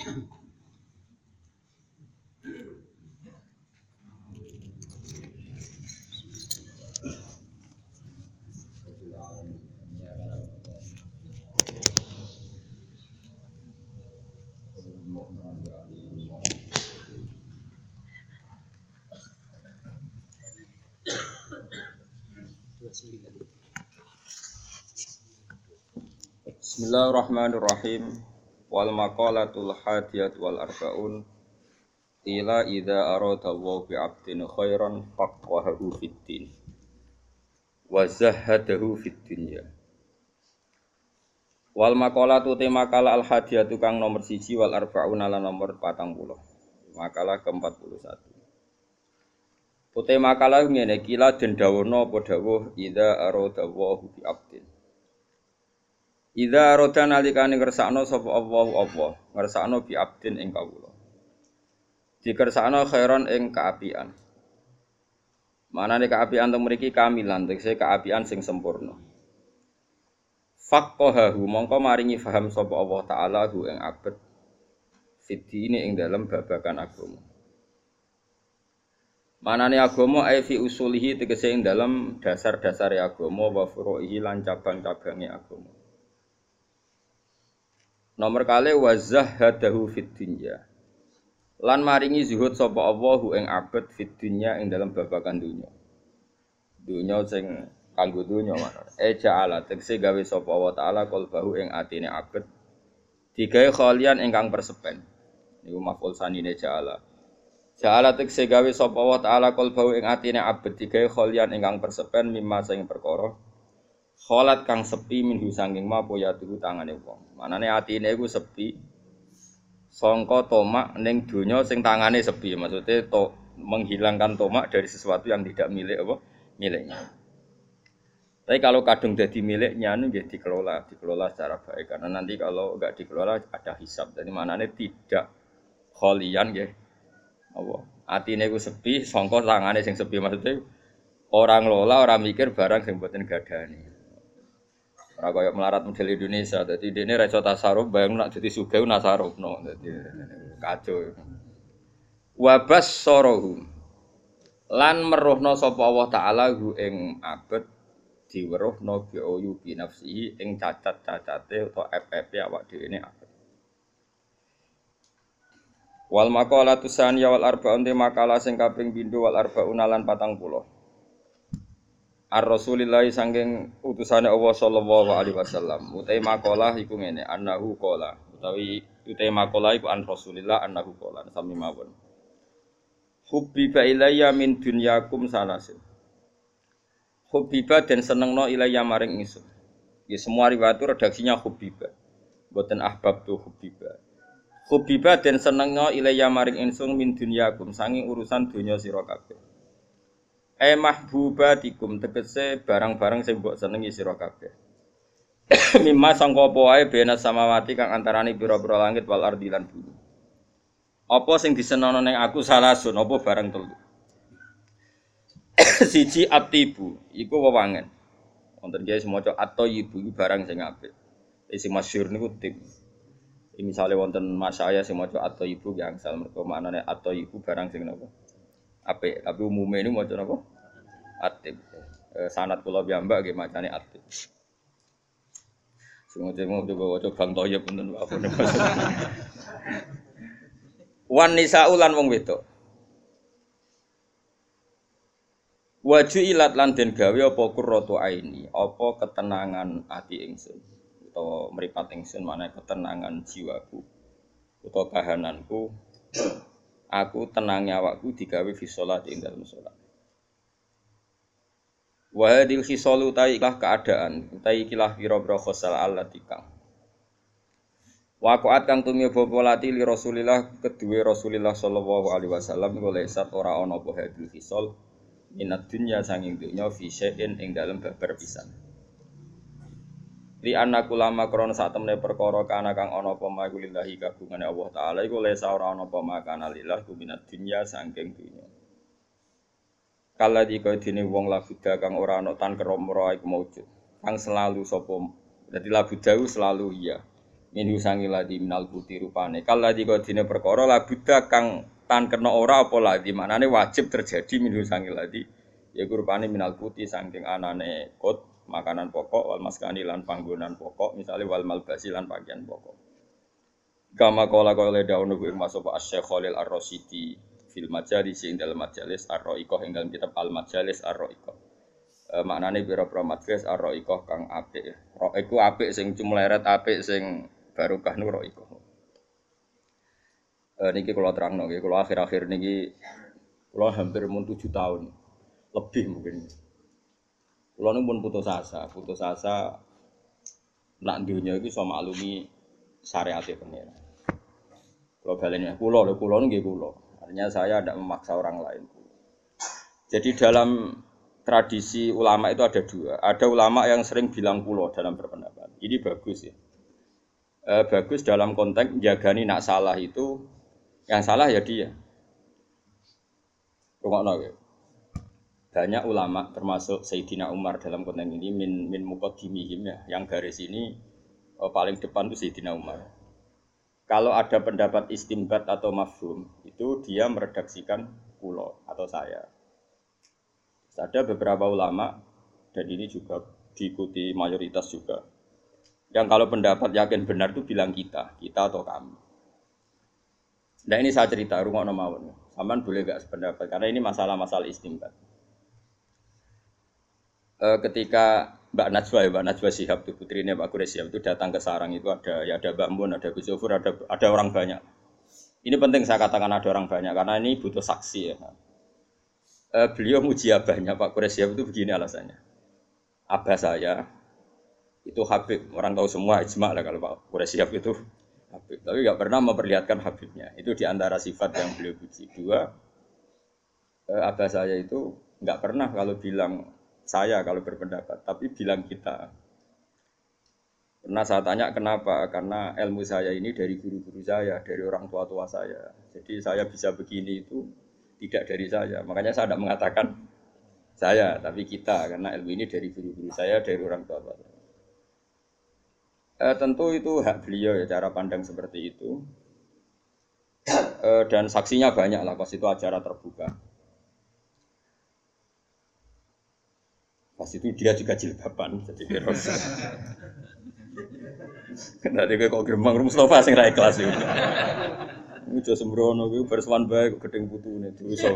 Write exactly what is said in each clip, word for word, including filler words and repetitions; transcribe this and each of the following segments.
Bismillahirrahmanirrahim. Wal maqalatul hadiyat wal arbaun ila idza arada wa bi 'abdin khairan faqahahu fid din wa zahhadahu fid dunya. Wal maqalatu te makalah al hadiyatu kang nomor siji wal arbaun ala nomor patang puluh. Makalah ke empat puluh satu. Ute makalah ngene kila den dawono apa dawuh idza arada wa bi 'abdin. Idza arada nalikane ngersakno sapa Allahu Allah, ngersakno bi abdin ing kawula. Dikersakno khairan ing kaapian. Manane kaapian teng mriki kamilan, tegese kaapian sing sempurna. Faqahahu mongko maringi faham sapa Allah taala hu ing abet fidine ing dalem babagan agama. Manane agama ai fi usulihi tegese ing dalem dasar-dasare agama wa furu'ihi lan cabang-cabange agama. Nomor kali wazahhadahu fid dunya. Lan maringi zuhud sapa Allahu ing abet fid dunya ing dalam babagan dunya. Dunya sing kanggo dunya mana? E ja'ala tegese gawe sapa Allah taala qalbahu ing atine abet digawe khalian ingkang persepen. Niku maf'ul sanine ja'ala. Ja'ala tegese gawe sapa Allah taala qalbahu ing atine abet digawe khalian ingkang persepen mimma sing perkara kholat kang sepi minhu sanging ma poya tuku tangane wong. Manane atine iku sepi sangka tomak ning donya sing tangane sepi. Maksudnya to menghilangkan tomak dari sesuatu yang tidak milik apa? Miliknya. Tapi kalau kadung dadi miliknya niku nggih dikelola, dikelola secara baik karena nanti kalau enggak dikelola ada hisab. Jadi manane tidak kholian nggih. Apa? Atine iku sepi sangka tangane sing sepi. Maksudnya orang lola, orang mikir barang sing mboten gadani. Ora kaya melarat model Indonesia, dadi dene ra iso tasarruf, bayang nak dadi sugih nasarufno, dadi kacau. Wa bassarahu lan meruhna sapa Allah taala hu ing abet diweruhna bi ayu bi nafsihi ing cacat-cacate utawa ep-epe awak dhewe ne abet. Wal maqalatu saniyah wal arba'un te makalah sing kaping pindho wal arba'un lan patang puluh. Ar-Rasulillah sangking utusane Allah sallallahu alaihi wasallam. Utai makalah iku ngene, annahu qala. Utawi utai makalah iku an Rasulillah annahu qala sami mawon. Hubbiba ilayya min dunyakum salasin. Hubbiba den senengno ilayya maring ingsun. Ya semua riwayat redaksinya hubbiba. Mboten ahbab tu hubbiba. Hubbiba den senengno ilayya maring ingsun min dunyakum sanging urusan donya sira kabeh. E mahbubatikum tegese barang-barang sing mbok senengi sira kabeh. Mimma sangka apa wae bena samawati kang antarane pira-pira langit wal ardi lan bumi. Apa sing disenono ning aku salasun apa barang telu. Siji atibu iku wewangen. Wonten kiye semoco at-thayyibu iku barang sing apik. Sing masyhur niku tib. Misale wonten mas saya sing maca at-thayyibu ki angsal mergo maknane at-thayyibu barang sing napa? Apik, tapi umumnya ini maca napa? Atib. E, sanad kula piyambak nggih macane atib. Sing-sing coba waca Bang Thoyib punten apa niku. Wan nisa'u lan wong wedok. Waju ilat lan den gawe apa qurratu aini, apa ketenangan ati ingsun utawa mripat ingsun manane ketenangan jiwaku utawa kahananku. Aku tenangnya awakku digawe fi shalat ing dalem salat. Wa hadil khisalu ta'ilah keadaan, utawi ikilah pira-pira khosal allati kang. Waqa'at kang tumiba polati li Rasulillah kedue Rasulillah sallallahu alaihi wasallam oleh sat ora ana apa hadil khisal minad dunya sanging dunya fi syai'in ing dalem babar pisan. Li annaku lama krana sak temene perkara kana kang ana apa makulillahi kagungane Allah taala iku lesa ora ana apa makana lillah kuminat dunya saking dunya. Kala dika dene wong labuda kang ora ana tan keromro iku maujud. Kang selalu sapa dadi labuda selalu iya. Minhu sangi ladi minal kuti rupane. Kal ladi kodine perkara la buddha kang tan kena ora apa ladi maknane wajib terjadi minhu sangi ladi. Yaiku rupane minal kuti saking anane kot makanan pokok wal maskani lan panggonan pokok misalnya wal malbasi lan pakaian pokok. Kama kala kala daun ing masuk Asy-Syaikh Khalil Ar-Rasyidi fil majalis ing dalam majalis Ar-Ra'iqah ing dalam kitab Al-Majalis Ar-Ra'iqah. E, maknane pira-pira majalis Ar-Ra'iqah kang apik. Ra iku apik sing cumleret apik sing barokah nu Ra'iqah. E, niki kula terangno nggih, kula akhir-akhir niki kula hampir mun tujuh tahun. Lebih mungkin. Kula nu pun putus asa, putus asa nak dunya iki iso maklumi syariat e pengen. Kula baleni kula lho kula nggih kula. Artinya saya tidak memaksa orang lain. Jadi dalam tradisi ulama itu ada dua. Ada ulama yang sering bilang kula dalam berpendapat. Ini bagus ya. E, bagus dalam konteks jagani nak salah itu yang salah ya dia. Rungokno nggih. Banyak ulama termasuk Sayyidina Umar dalam konteks ini min min muqaddimihim ya, yang garis ini oh, paling depan itu Sayyidina Umar. Kalau ada pendapat istimbat atau mafhum itu dia meredaksikan kulo atau saya. Ada beberapa ulama dan ini juga diikuti mayoritas juga. Yang kalau pendapat yakin benar itu bilang kita, kita atau kami. Nah ini saya cerita rungokno mawon. Sampeyan boleh gak sependapat karena ini masalah-masalah istimbat. Ketika Mbak Najwa ya, Mbak Najwa Shihab itu putrinya Pak Quraish Shihab itu datang ke sarang itu ada ya ada Mbak Mun, ada Gus Zufur, ada ada orang banyak. Ini penting saya katakan ada orang banyak karena ini butuh saksi ya. E, beliau muji abahnya Pak Quraish Shihab itu begini alasannya. Abah saya itu Habib, orang tahu semua ijma lah kalau Pak Quraish Shihab itu Habib, tapi enggak pernah memperlihatkan Habibnya. Itu diantara sifat yang beliau puji. Dua, e, abah saya itu enggak pernah kalau bilang saya kalau berpendapat, tapi bilang kita. Pernah saya tanya kenapa? Karena ilmu saya ini dari guru-guru saya, dari orang tua-tua saya. Jadi saya bisa begini itu tidak dari saya. Makanya saya tidak mengatakan saya, tapi kita. Karena ilmu ini dari guru-guru saya, dari orang tua-tua saya. Eh, tentu itu hak beliau ya, cara pandang seperti itu. Eh, dan saksinya banyak lah, pas itu acara terbuka. Pas itu dia juga jilbaban, jadi keros. Nanti kok gerbang Mustafa sing ra ikhlas iki. Ujo sembrono kuwi berswan bae kok gedeng putune dosa.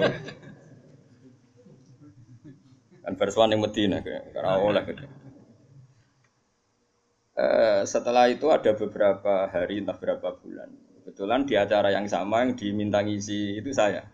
Kan berswan ning Madinah kaya ora oleh gitu. Eh, setelah itu ada beberapa hari entah berapa bulan. Kebetulan di acara yang sama yang diminta ngisi itu saya.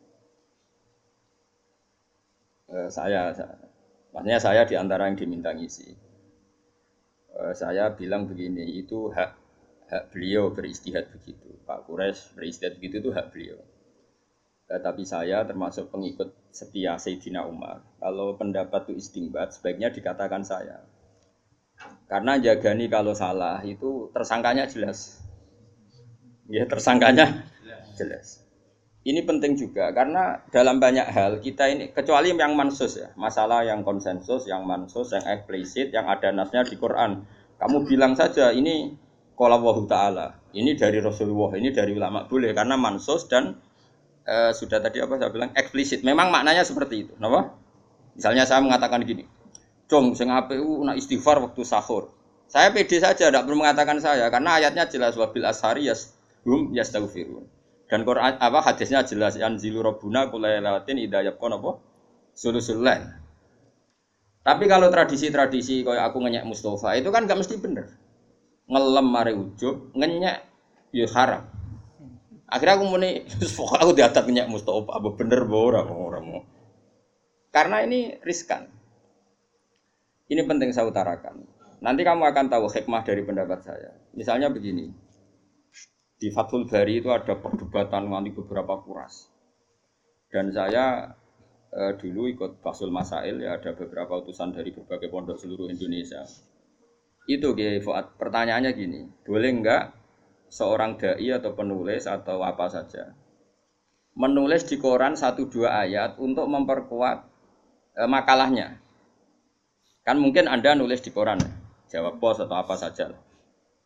Eh, saya, saya Maksudnya saya di antara yang diminta ngisi. Uh, saya bilang begini, itu hak hak beliau beristihad begitu. Pak Quraish beristihad begitu itu hak beliau. Uh, tapi saya termasuk pengikut setia Sayyidina Umar. Kalau pendapat itu istimbat, sebaiknya dikatakan saya. Karena jagani kalau salah itu tersangkanya jelas. Ya tersangkanya jelas. Ini penting juga karena dalam banyak hal kita ini kecuali yang mansus ya, masalah yang konsensus, yang mansus, yang eksplisit, yang ada nasnya di Quran. Kamu bilang saja ini qala Allahu taala, ini dari Rasulullah, ini dari ulama boleh karena mansus dan e, sudah tadi apa saya bilang eksplisit. Memang maknanya seperti itu, napa? Misalnya saya mengatakan gini, "Cung sing apik ku nak istighfar waktu sahur." Saya pede saja tidak perlu mengatakan saya karena ayatnya jelas wabil ashari yas hum yastaghfirun. Dan Quran apa hadisnya jelas anzilu rabbuna kulailatin idza yaqon apa sulusul lail. Tapi kalau tradisi-tradisi kayak aku ngenyek Mustafa itu kan enggak mesti bener. Ngelem mare ujub, ngenyek ya haram. Akhirnya aku muni pokok aku diatat ngenyek Mustafa apa bener apa ora ora mau. Karena ini riskan. Ini penting saya utarakan. Nanti kamu akan tahu hikmah dari pendapat saya. Misalnya begini. Di Fathul Bari itu ada perdebatan nanti beberapa kuras. Dan saya eh, dulu ikut Basul Masail ya ada beberapa utusan dari berbagai pondok seluruh Indonesia. Itu Kiai Fuad, pertanyaannya gini, boleh enggak seorang dai atau penulis atau apa saja menulis di koran satu dua ayat untuk memperkuat eh, makalahnya? Kan mungkin Anda nulis di koran, jawab pos atau apa saja.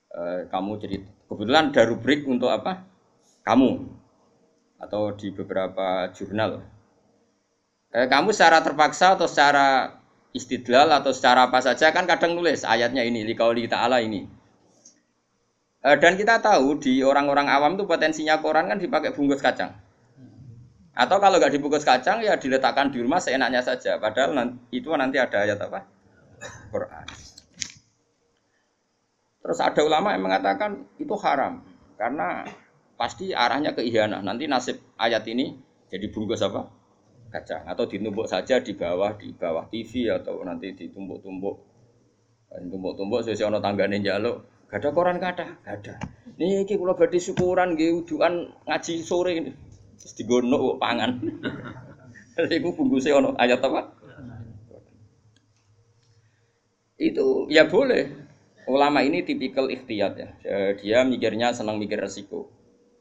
eh, kamu cerita. Kebetulan ada rubrik untuk apa? Kamu atau di beberapa jurnal. Eh, kamu secara terpaksa atau secara istidlal atau secara apa saja kan kadang nulis ayatnya ini liqauli ta'ala ini. E, dan kita tahu di orang-orang awam itu potensinya koran kan dipakai bungkus kacang. Atau kalau nggak dibungkus kacang ya diletakkan di rumah seenaknya saja. Padahal nanti, itu nanti ada ayat apa? Quran. Terus ada ulama yang mengatakan itu haram karena pasti arahnya ke ihanah. Nanti nasib ayat ini jadi bungkus apa? Kacang atau ditumbuk saja di bawah di bawah T V atau nanti ditumbuk-tumbuk tumbuk-tumbuk sesuai ono tanggane njaluk gak ada koran gak ada gak ada niki kula badhe syukuran nggih wudukan ngaji sore ini terus digono kok pangan iku bungkuse ono ayat apa itu ya boleh ulama ini tipikal ikhtiyat ya dia mikirnya senang mikir resiko.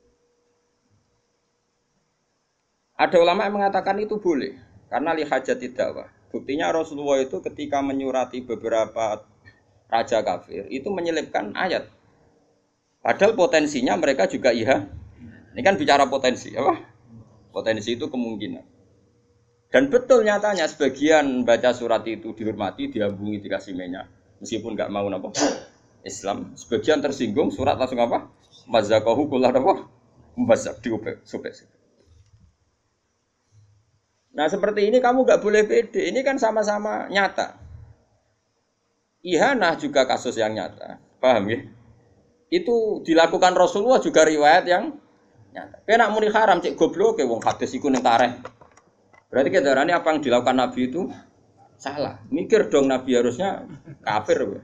Ada ulama yang mengatakan itu boleh karena lihajat dakwah. Buktinya Rasulullah itu ketika menyurati beberapa raja kafir itu menyelipkan ayat. Padahal potensinya mereka juga iya. Ini kan bicara potensi, apa? Potensi itu kemungkinan. Dan betul nyatanya sebagian baca surat itu dihormati, diambungi, dikasih minyak, meskipun nggak mau apa Islam. Sebagian tersinggung surat langsung apa? Mazakahu kullah apa? Mazak diubah, sobek. Nah seperti ini kamu nggak boleh pede, ini kan sama-sama nyata. Ihanah juga kasus yang nyata, paham ya? Itu dilakukan Rasulullah juga riwayat yang nyata. Kena muni haram cek goblok ke wong hadis iku ning tareh. Berarti kedarane apa yang dilakukan Nabi itu salah. Mikir dong Nabi harusnya kafir.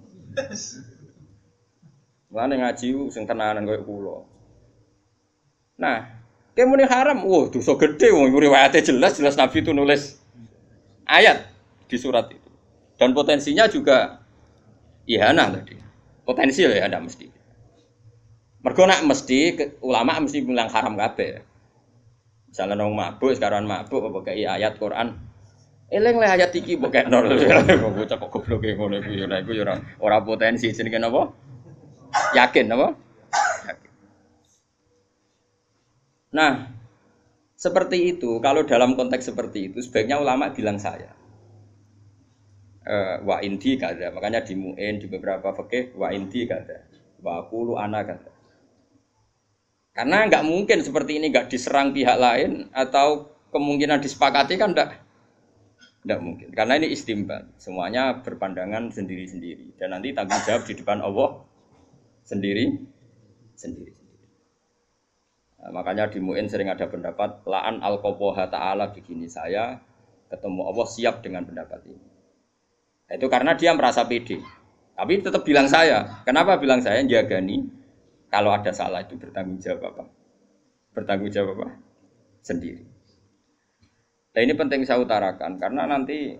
Mulane ngaji sing tenanan koyo kula. Nah, kemuni haram, wah dosa gede, wong riwayatnya jelas jelas Nabi itu nulis ayat di surat itu, dan potensinya juga ihanah tadi, potensial ya ada mesti. Mergo nak mesti ulama mesti bilang haram kabeh. Misalnya nong mabuk sekarang mabuk apa kayak ayat Quran, eling le ayat iki mbok kekno lho, bocah kok gobloke ngono iku ya iku ya ora potensi jenenge napa? Yakin apa? Nah, seperti itu, kalau dalam konteks seperti itu, sebaiknya ulama bilang saya. E, wa indi kada, makanya di mu'in, di beberapa fikih, wa indi kada, wa qulu ana kada. Karena nggak mungkin seperti ini nggak diserang pihak lain, atau kemungkinan disepakati kan enggak, enggak mungkin. Karena ini istimbat, semuanya berpandangan sendiri-sendiri. Dan nanti tanggung jawab di depan Allah sendiri-sendiri. Nah, makanya di Mu'in sering ada pendapat la'an al-qoboha ta'ala begini, saya ketemu Allah siap dengan pendapat ini. Nah, itu karena dia merasa pede. Tapi tetap bilang saya. Kenapa bilang saya? Jagani kalau ada salah itu bertanggung jawab apa? Bertanggung jawab apa? Sendiri. Nah ini penting saya utarakan karena nanti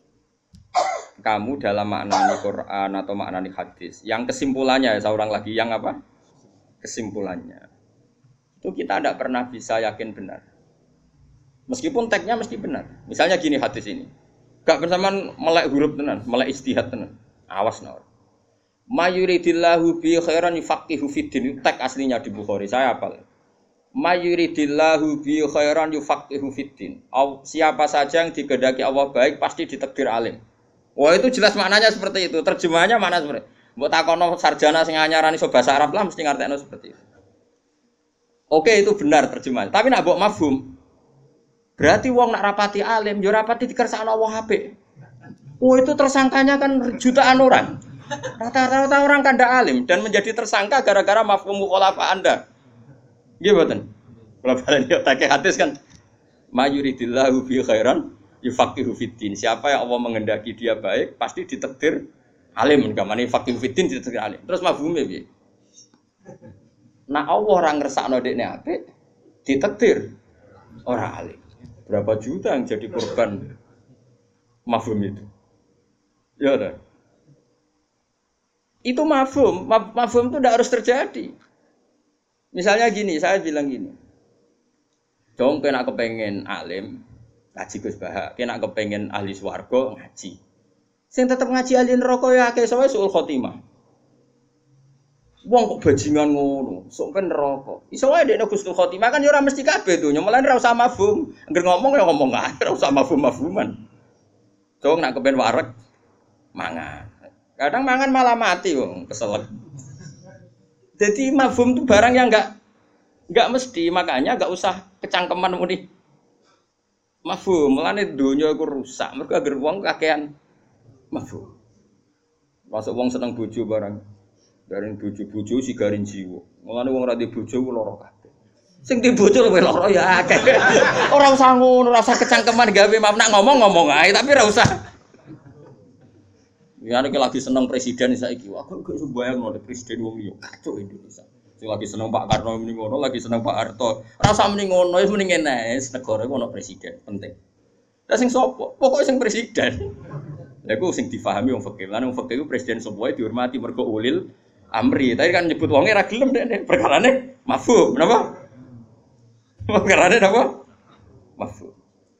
kamu dalam maknani Quran atau maknani hadis yang kesimpulannya saya ulang lagi yang apa? Kesimpulannya itu kita tidak pernah bisa yakin benar. Meskipun teksnya mesti benar. Misalnya gini hadis ini. Gak bersamaan melek huruf tenan, melek istihad tenan. Awas naur. Mayuridillahu bi khairan yufaqihu fiddin. Teks aslinya di Bukhari. Saya hafal. Mayuridillahu bi khairan yufaqihu fiddin. Siapa saja yang dikehendaki Allah baik pasti ditakdir alim. Wah itu jelas maknanya seperti itu. Terjemahannya mana seperti itu. Mbok takono sarjana sing anyarani iso bahasa Arab lah mesti ngartekno seperti itu. Oke itu benar terjemahan. Tapi nak mbok mafhum. Berarti wong nak rapati alim, yo rapati dikersakno Allah apik. Oh itu tersangkanya kan jutaan orang. Rata-rata orang kan ndak alim dan menjadi tersangka gara-gara mafhum mukhalafah Anda. Nggih mboten. Kula balen yo tak hadis kan mayuridillahu bi khairan yufaqihu fiddin. Siapa yang Allah menghendaki dia baik, pasti ditakdir alim. Gamane faqihu fiddin ditakdir alim. Terus mafhume piye? Nah Allah ora ngersakno dekne apik, ditakdir ora alim. Berapa juta yang jadi korban mafhum itu? Ya ada. Itu mafhum, mafhum itu tidak harus terjadi. Misalnya gini, saya bilang gini. Dong kena kepengen alim, ngaji Gus Bahak, kena kepengen ahli swarga ngaji. Sing tetep ngaji ahli neraka ya akeh sowe suul khotimah. Wong kok bajingan ngono, sok ben neraka. Iso wae dekne Husnul Khotimah kan ya ora mesti kabeh donya, malah ora usah mafhum. Angger ngomong ya ngomong ae, ora usah mafhum-mafhuman. Dong nak kepen wareg mangan. Kadang mangan malah mati wong, keselek. Jadi mafhum itu barang yang enggak enggak mesti, makanya enggak usah kecangkeman muni. Mafhum, mulane donya iku rusak, mergo angger wong kakean mafhum. Masuk wong seneng bojo barang. Garing bojo-bojo sigarin jiwa. Mulane wong ora di bojo ku lara kabeh. Sing di bojo luwih lara ya akeh. Ora usah ngono, ora usah kecangkeman gawe maaf nak ngomong-ngomong ae tapi ora usah. Ya nek lagi seneng presiden saiki, aku gak iso bayangno presiden wong liya kacau Indonesia. Sing lagi seneng Pak Karno muni ngono, lagi seneng Pak Harto. Ora usah muni ngono, wis muni ngene, negara iku ono presiden, penting. Lah sing sapa? Pokoke sing presiden. Lha iku sing difahami wong fikih. Lan wong fikih iku presiden sapa wae dihormati mergo ulil amri. Tadi kan nyebut wonge ra gelem nek perkarane mafhum. Napa? Perkarane napa? Mafhum.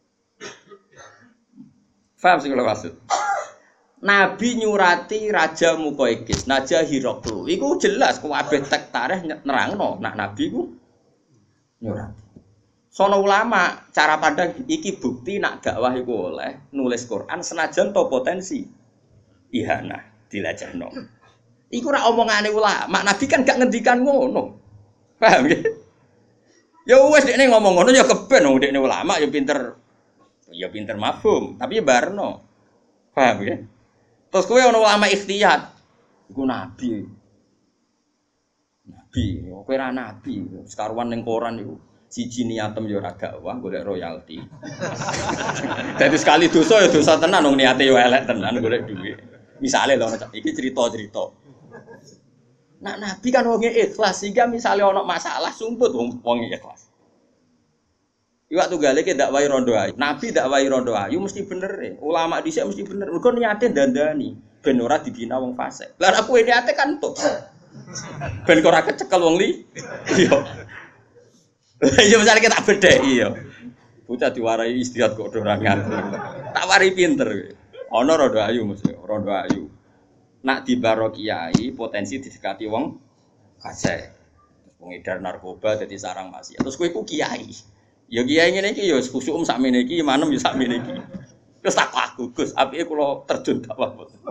Faham sing kula maksud? Nabi nyurati Raja Muqaykis, Naja Hiraqlu. Iku jelas kabeh tek tarikh nerangno nak Nabi ku nyurati. Sono ulama cara pandang iki bukti nak dakwah iku oleh nulis Quran senajan to potensi ihana dilajahno. Iku ora omongane ulama, Nabi kan gak ngendikan ngono. Paham ya? Ya wis dekne ngomong ngono ya keben wong dekne ulama ya pinter. Ya pinter mafhum, tapi ya barno. Paham ya? Terus kowe ana ulama ikhtiyat. Iku nabi. Nabi, kowe ora nabi, sekaruan ning koran iku. Siji niatem ya ora dakwah golek royalti. Dadi sekali dosa ya dosa tenan wong niate ya elek tenan golek dhuwit. Misale lho iki cerita-cerita. Nak nabi kan wong ikhlas sehingga misale ana masalah sumput wong wong ikhlas. Iwak tunggale ki dakwahi rondo ayu. Nabi dakwahi rondo ayu mesti bener e. Ulama dhisik mesti bener. Mergo niate dandani ben ora dibina wong fasik. Lah aku niate kan tok. Ben ora kecekel wong li. Iya. Ya misale kita bedheki ya. Bocah diwarai istirahat kok ora ngatur. Tak wari pinter. Ana rondo ayu mesti, rondo ayu. Nak dibaro kiai potensi didekati wong fasik. Pengedar narkoba dadi sarang maksiat. Terus kowe iku kiai. Ya kiai ngene iki ya khusuk um sakmene iki, manem ya sakmene iki. Terus tak aku, Gus, apike kula terjun dakwah.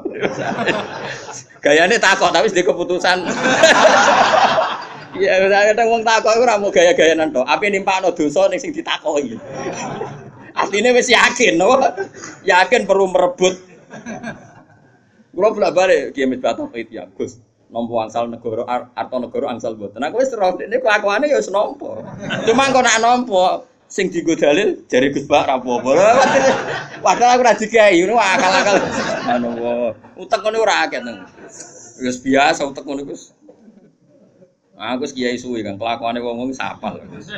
Gayane takok tapi wis keputusan. Ya kadang wong takok iku ora mau gaya-gayanan tok. Ape nimpakno dosa ning sing ditakoki. Asline wis yakin, no? Yakin perlu merebut. Kula bolak-balik Kiai Misbah Tauhid ya, Gus. Nampa angsal negara arta negara angsal mboten. Aku wis roh dekne kelakuane ya wis nampa. Cuma kok nak nampa sing dienggo dalil jare Gus Bak ra apa-apa. Padahal aku ra digawe ngono akal-akal. Anu wae. Utek ngene ora akeh nang. Wis biasa utek ngono Gus. Aku wis kiai suwi kan kelakuane wong-wong sapal.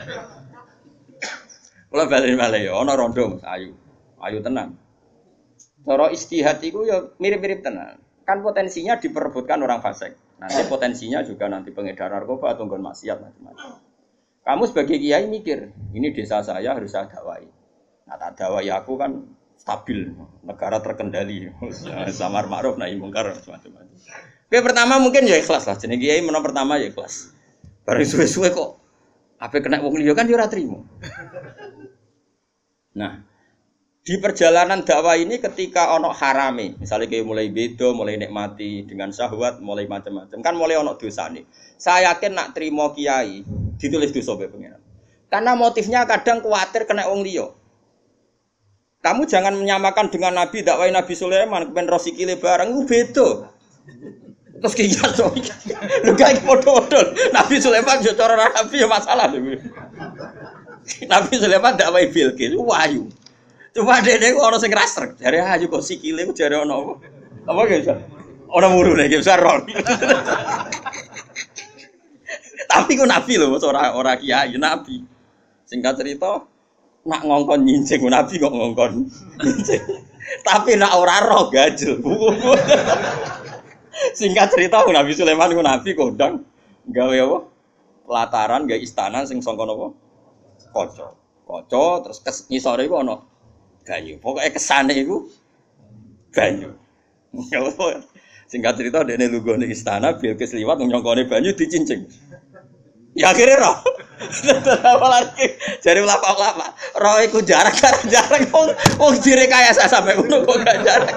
Kula bali-bali ya ana rondo Mas Ayu. Ayu tenan. Cara istihad iku ya mirip-mirip tenan. Kan potensinya diperebutkan orang fasik. Nanti potensinya juga nanti pengedar narkoba atau nggon maksiat macam-macam. Kamu sebagai kiai mikir, ini desa saya harus saya dakwai. Nah, tak dakwai aku kan stabil, negara terkendali, samar ma'ruf nahi mungkar macam-macam. Oke, pertama mungkin ya ikhlas lah. Jenenge kiai menang pertama ya ikhlas. Bareng suwe-suwe kok ape kena wong liya kan yo ora trimo. Nah, di perjalanan dakwah ini ketika ono harame, misalnya kayak mulai beda, mulai nikmati dengan syahwat, mulai macam-macam, kan mulai ono dosa nih. Saya yakin nak terima kiai ditulis dosa be pengiran. Karena motifnya kadang khawatir kena wong liya. Kamu jangan menyamakan dengan Nabi dakwah Nabi Sulaiman kepen rosikile barang itu beda. Terus kiai so, lu gak podo-podo. Nabi Sulaiman yo cara Nabi ya masalah lho. Nabi Sulaiman dakwah Bilqis wahyu. Cuma dene kok ana sing rasrek, jare ayu kok sikile kok jare ana apa? Apa ge bisa? Ora murune ge bisa ron. Tapi kok nabi lho, ora ora kiai nabi. Singkat cerita, nak ngongkon nyincing nabi kok ngongkon nyincing. Tapi nak ora roh gajel. Singkat cerita Nabi Sulaiman ku nabi kondang gawe apa? Pelataran gawe istana sing sangka napa? Kaca. Kaca terus ngisore iku ana banyu. Pokoknya kesane itu banyu. Singkat cerita dene lunggone istana Bilqis liwat nyongkone banyu dicincing. Ya akhirnya roh. Apalagi jare ulama-ulama, roh iku jarak-jarak wong wong direkayasa sampai ngono kok gak jarak.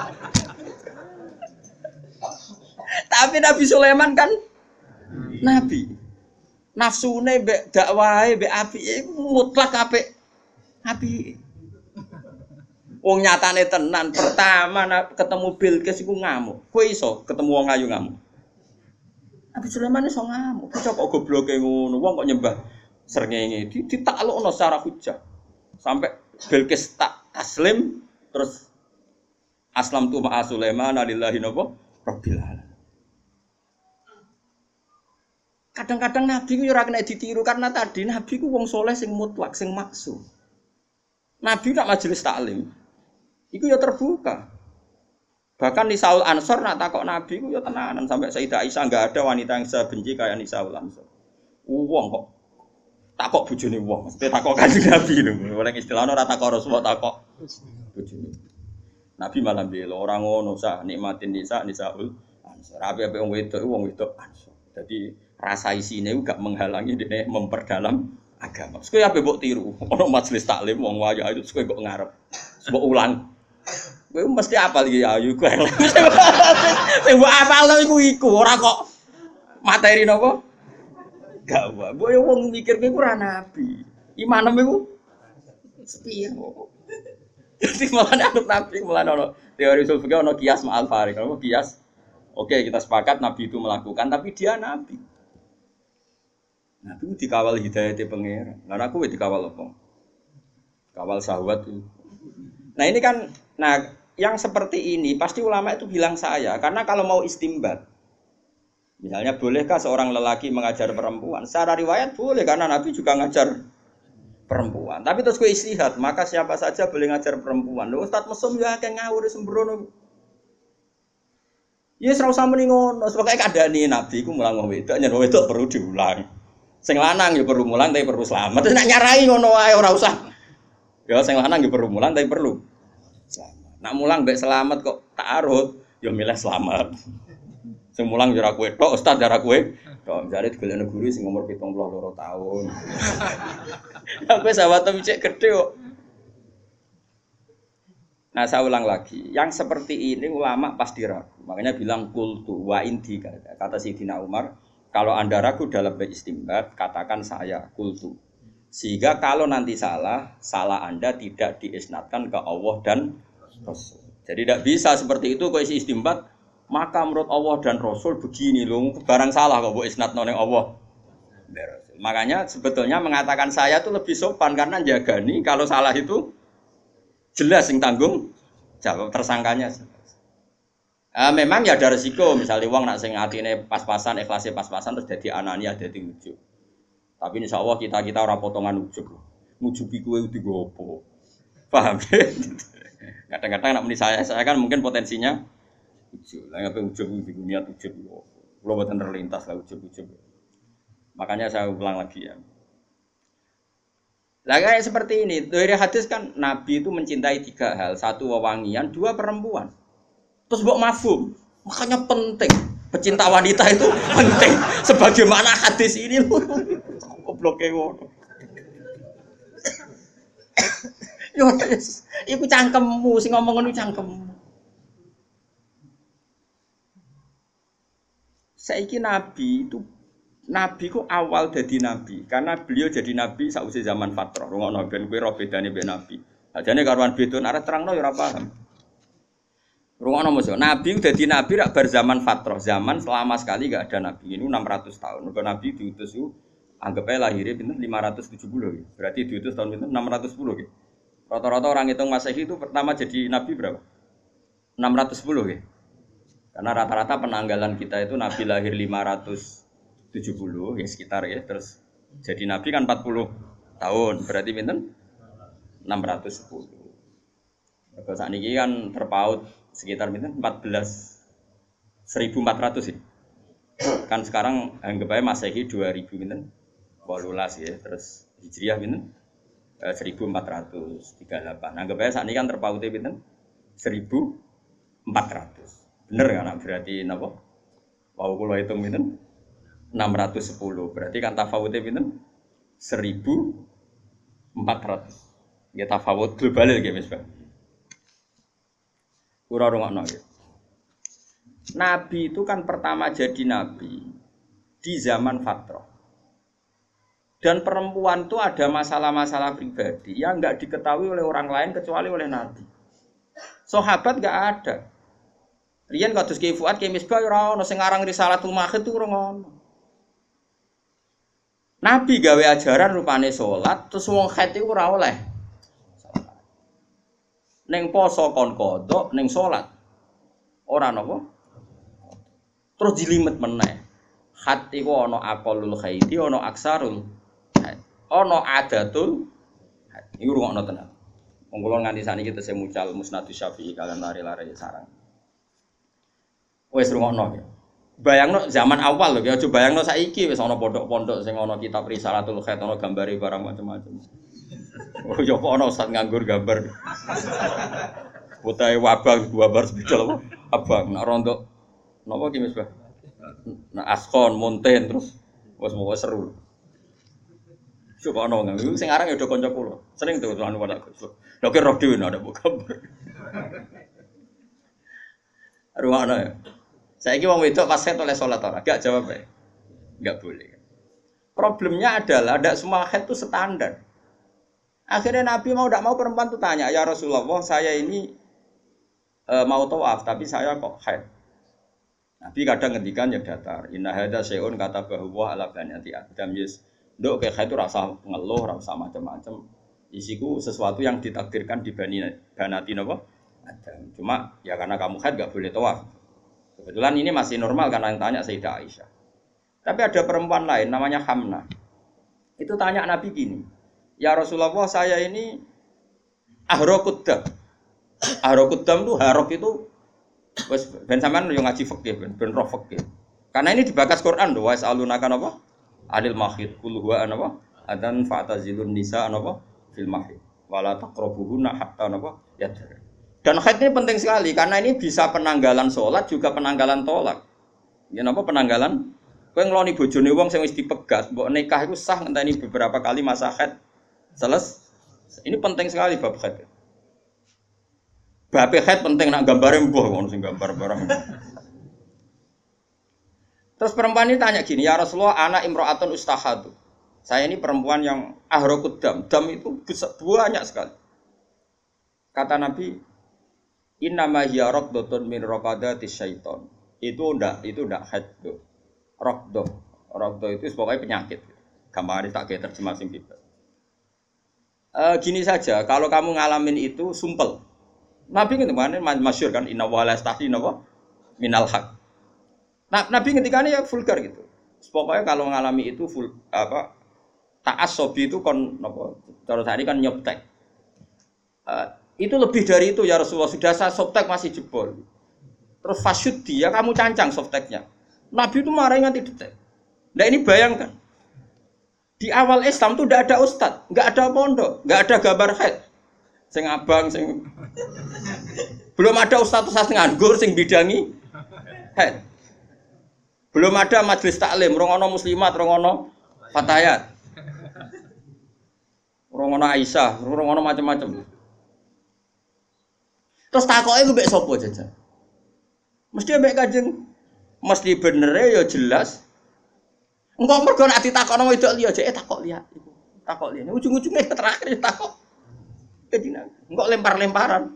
Tapi Nabi Sulaiman kan nabi. Nafsune mbek dakwahe mbek apike iku mutlak apik. Apik. Wong nyatane tenan, pertama ketemu Bilqis iku ngamuk. Kowe iso ketemu wong ayu ngamuk. Nabi Sulaiman iso ngamuk. Kok kok gobloke ngono, wong kok nyembah srengenge ditaklukno secara hujah. Sampai Bilqis tak taslim terus aslam tu ma'a Sulaiman lillahi napa rabbil alamin. Kadang-kadang Nabi ku ora kena ditiru karena tadi Nabi ku wong soleh sing mutlak, sing maksum. Nabi nak majelis taklim. Iku ya terbuka. Bahkan Nisaul Ansor nak takok Nabi ku ya tenanan sampai Sayyidah Aisyah enggak ada wanita yang sebenci kayak Nisaul Ansor. Wong kok takok bojone wong, mesti takok Kanjeng Nabi lho. Ora istilahno ora takok Rasulullah takok bojone. Nabi malah bela ora ngono sah nikmatin nisa Nisaul Ansor. Ape-ape wong wedok wong wedok Ansor. Jadi rasa isine gak menghalangi dene memperdalam agama. Terus kowe ape mbok tiru? Ono majelis taklim wong wayu itu kowe kok ngarep. Mbok ulang. Kowe mesti apal iki ayu kowe. Sing mbok apalno iku iku ora kok materi napa? Gak wae. Mbok yo wong mikir kowe ora nabi. Imanem iku sepiye kok. Jadi malah anut nabi malah ono teori usul fikih ono kias ma'al farik. Ono kias. Oke, kita sepakat nabi itu melakukan tapi dia nabi. Nabi itu dikawal hidayahnya pangeran. Lah aku wis dikawal apa? Kawal syahwat itu. Nah ini kan, nah yang seperti ini pasti ulama itu bilang saya, karena kalau mau istimbat, misalnya bolehkah seorang lelaki mengajar perempuan? Secara riwayat boleh karena Nabi juga ngajar perempuan. Tapi terus gue istihad, maka siapa saja boleh ngajar perempuan. Loh, Ustaz mesum ya kayak ngawur sembrono. Ya serau sama nih ngono, sebagai keadaan ini Nabi ku mulang wong wedok, nyen wedok perlu diulang. Sing lanang ya perlu mulang tapi perlu selamat. Terus nak nyarai ngono wae ora usah. Ya sing lanang ya perlu mulang tapi perlu selamat. Nak mulang mbek selamat kok ta'arud, ya milih selamat. Sing mulang ya ora kowe tok, ustaz ora kowe. Tok jare digolekno guru sing umur pitung puluh loro tahun. Sampai sahabat cek gede kok. Nah saya ulang lagi, yang seperti ini ulama pasti ragu. Makanya bilang kultu wa inti kata Sayyidina Umar, kalau anda ragu dalam beristimbat, katakan saya kultu. Sehingga kalau nanti salah, salah anda tidak diisnadkan ke Allah dan Rasul. Jadi tidak bisa seperti itu kalau isi istimbat, maka menurut Allah dan Rasul begini loh, barang salah kok bu isnadno ning Allah. Makanya sebetulnya mengatakan saya itu lebih sopan karena jagani kalau salah itu jelas yang tanggung jawab tersangkanya. Uh, memang ya ada resiko, misalnya uang nak sing atine pas-pasan, ikhlasnya pas-pasan terus jadi anania, jadi ujub. Tapi insya Allah kita kita orang potongan ujub, ngujubi kue udah gopo, paham? Kadang-kadang nak meni saya, saya kan mungkin potensinya ujub, lah ngapain ujub di dunia ujub, kalau buatan terlintas lah ujub-ujub. Makanya saya ulang lagi ya. Lah kayak seperti ini, dari hadis kan Nabi itu mencintai tiga hal, satu wewangian, dua perempuan. Terus mbok mafhum, makanya penting, pecinta wanita itu penting. Sebagaimana hadis ini loh, goblok ngono. Yo wis, iku cangkemmu sing ngomong ngono cangkemmu. Saiki Nabi itu Nabi ku awal jadi nabi, karena beliau jadi nabi sausé zaman fatrah. Ngono ben kowe ro bedane mbek nabi. Ajane karuan beda arep terangno ya ora paham. Rungono mesti nabi dadi nabi rak bar zaman fatrah, zaman selama sekali enggak ada nabi. Ini enam ratus tahun. Mergo nabi diutus ku anggap ae lahirnya pinten lima ratus tujuh puluh ya. Berarti diutus tahun pinten enam ratus sepuluh ya. Rata-rata orang hitung Masehi itu pertama jadi nabi berapa? enam ratus sepuluh ya. Karena rata-rata penanggalan kita itu nabi lahir lima ratus tujuh puluh ya sekitar ya, terus jadi nabi kan empat puluh tahun, berarti pinten enam ratus sepuluh. Kalau saat ini kan terpaut sekitar pinten empat belas seribu empat ratus ya. Kan sekarang anggap aja Masehi dua ribu pinten delapan belas ya, terus Hijriah pinten eh, seribu empat ratus tiga puluh delapan. Anggap aja saat ini kan terpautnya pinten seribu empat ratus. Bener kan berarti napa? Wau kula hitung pinten? enam ratus sepuluh. Berarti kan tafawute pinten? seribu empat ratus. Ya tafawut global nggih Mas Bang. Ora rungokno nggih. Nabi itu kan pertama jadi nabi di zaman fatrah. Dan perempuan itu ada masalah-masalah pribadi yang enggak diketahui oleh orang lain kecuali oleh Nabi. Sahabat enggak ada. Riyen kados Ki Fuad Ki Misbah ora ono sing aran Risalatul Mahid itu ora ono. Nabi gawe ajaran rupane salat terus wong haid iku ora oleh. Ning poso kon kodok ning salat. Ora napa? Terus jilimet meneh. Haid iku ana aqallul haidi, ana aksarul haid. Ana adatul haid. Iku rungokno tenan. Wong kula nganti sakniki tesih mucal Musnadus Syafi'i kalian lari-lari sarang. Wes rungokno ya. Bayangno zaman awal lho, ya aja bayangno saiki wis ana pondok-pondok sing ana kitab Risalatul Khaid ana gambare barang macam-macam. Oh ya kok ana ustaz nganggur gambar. Putahe wabang gambar spidol apa? Abang nek rontok napa ki Misbah? Nah askon, monten terus wis mau seru. Coba ana nganggo sing aran ya do kanca kula. Sering tuh anu pada Gus. Lha ki roh dhewe ada gambar. Ruwana ya. Saiki wong wedok pas haid oleh salat ora? Enggak jawab ya. Enggak boleh. Problemnya adalah tidak semua haid itu standar. Akhirnya Nabi mau tidak mau perempuan itu tanya, "Ya Rasulullah, saya ini e, mau tawaf tapi saya kok haid." Nabi kadang ngendikan ya datar. Inna hadza syai'un katabahu wa ala banati Adam yes. Nduk kayak haid itu rasa ngeluh, rasa macam-macam. Isiku sesuatu yang ditakdirkan di bani banati napa? Adam. Cuma ya karena kamu haid enggak boleh tawaf. Kebetulan ini masih normal karena yang tanya Sayyidah Aisyah. Tapi ada perempuan lain namanya Hamnah. Itu tanya Nabi gini, "Ya Rasulullah, saya ini ahrokuddam." Ahrokuddam itu harok itu wis ben sampean yo ngaji fikih ben ben roh fikih. Karena ini dibakas Quran lho, wa salunaka napa? Adil mahid kul huwa anapa? Adan fa'tazilun nisa anapa? Fil mahid. Wala taqrabuhunna hatta napa? Yadhar. Dan haid ini penting sekali karena ini bisa penanggalan sholat juga penanggalan tolak. Ya napa penanggalan? Kowe ngloni bojone wong sing wis dipegat, mbok nikah iku sah ngenteni beberapa kali masa haid. Seles. Ini penting sekali bab haid. Bab haid penting nak gambare mbuh ngono sing gambar barang. Terus perempuan ini tanya gini, "Ya Rasulullah, anak imra'atun ustahadu." Saya ini perempuan yang ahraqud dam. Dam itu banyak sekali. Kata Nabi, "Innama hiya raqdatun min raqadatis syaiton." Itu ndak, itu ndak haid tuh. Raqdah. Raqdah itu pokoknya penyakit. Gampang tak kayak terjemah sing bebas. E, gini saja, kalau kamu ngalamin itu sumpel. Nabi ngendikan masyhur kan inna wa la yastahi napa minal haq. Nah, Nabi ngendikannya ya vulgar gitu. Pokoknya kalau ngalami itu full apa ta'assobi itu kon napa cara tadi kan nyoptek. Uh, itu lebih dari itu ya Rasulullah, sudah saya softtek masih jebol. Terus fasyud dia kamu cancang softteknya. Nabi itu marah nganti detek. Nah ini bayangkan. Di awal Islam tuh tidak ada ustadz, nggak ada pondok, nggak ada gambar haid. Sing abang sing belum ada ustadz ustadz nganggur sing bidangi haid. Belum ada majelis taklim, rongono muslimat, rongono fatayat. Rongono Aisyah, rongono macam-macam. Terus takoke ku mbek sapa jajan? Mesti mbek Kanjeng. Mesti bener ya jelas. Engko mergo nek ditakokno wedok liya jek takok liya iku. Takok liya. Ujung-ujunge terakhir takok. Dadi engko lempar-lemparan.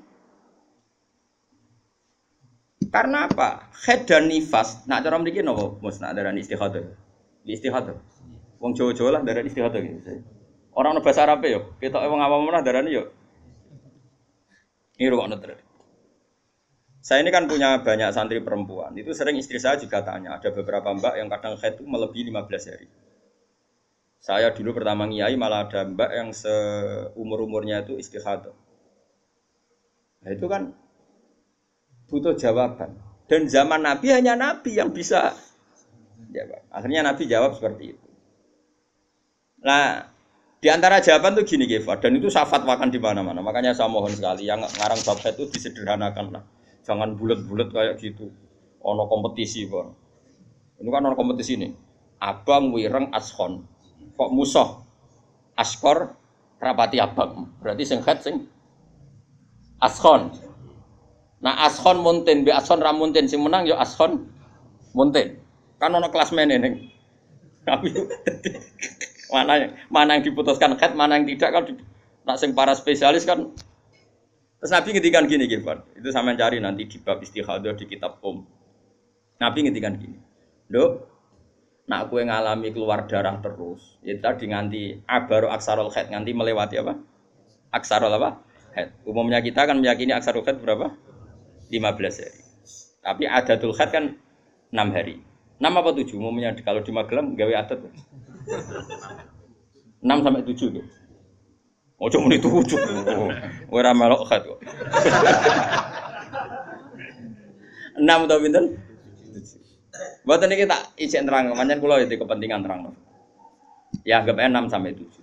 Karena apa? Haid dan nifas. Nak cara mriki napa? Mus nak darani istihadah. Istihadah. Wong Jawa-Jawa lah darani istihadah gitu. Orang ono bahasa Arab yo, ketoke wong awam menah darani yo. Ini rukun terus. Saya ini kan punya banyak santri perempuan. Itu sering istri saya juga tanya. Ada beberapa mbak yang kadang haid itu melebihi lima belas hari. Saya dulu pertama ngiyai malah ada mbak yang seumur-umurnya itu istihadah. Nah itu kan butuh jawaban. Dan zaman Nabi hanya Nabi yang bisa jawab. Akhirnya Nabi jawab seperti itu. Nah, di antara jawaban tuh gini Gefa, dan itu saya fatwakan di mana-mana. Makanya saya mohon sekali yang ngarang bab itu disederhanakan lah. Jangan bulat-bulat kayak gitu. Ono kompetisi, Pak. Ini kan ono kompetisi nih. Abang wireng ashon. Kok musuh? Askor rapati abang. Berarti sing khat sing ashon. Nah ashon munten be ashon ra munten sing menang ya ashon munten. Kan ono kelas mene ning. Tapi mana mana yang diputuskan khat, mana yang tidak kan nak sing para spesialis kan. Terus Nabi ngendikan gini, Gilbert. Itu sama cari nanti di bab istikhadah di kitab Om. Nabi ngendikan gini. Nduk, nak kowe ngalami keluar darah terus, ya tadi nganti abaru aksarul khaid, nganti melewati apa? Aksarul apa? Khaid. Umumnya kita kan meyakini aksarul khaid berapa? lima belas hari. Tapi adatul khaid kan enam hari. enam apa tujuh? Umumnya kalau di Magelang gawe adat. enam sampai tujuh tuh. Ojo muni tujuh. Ora melok khaid kok. enam atau pinten? Mboten iki tak ijek terang, pancen kula iki kepentingan terang. Ya anggap enam sampai tujuh.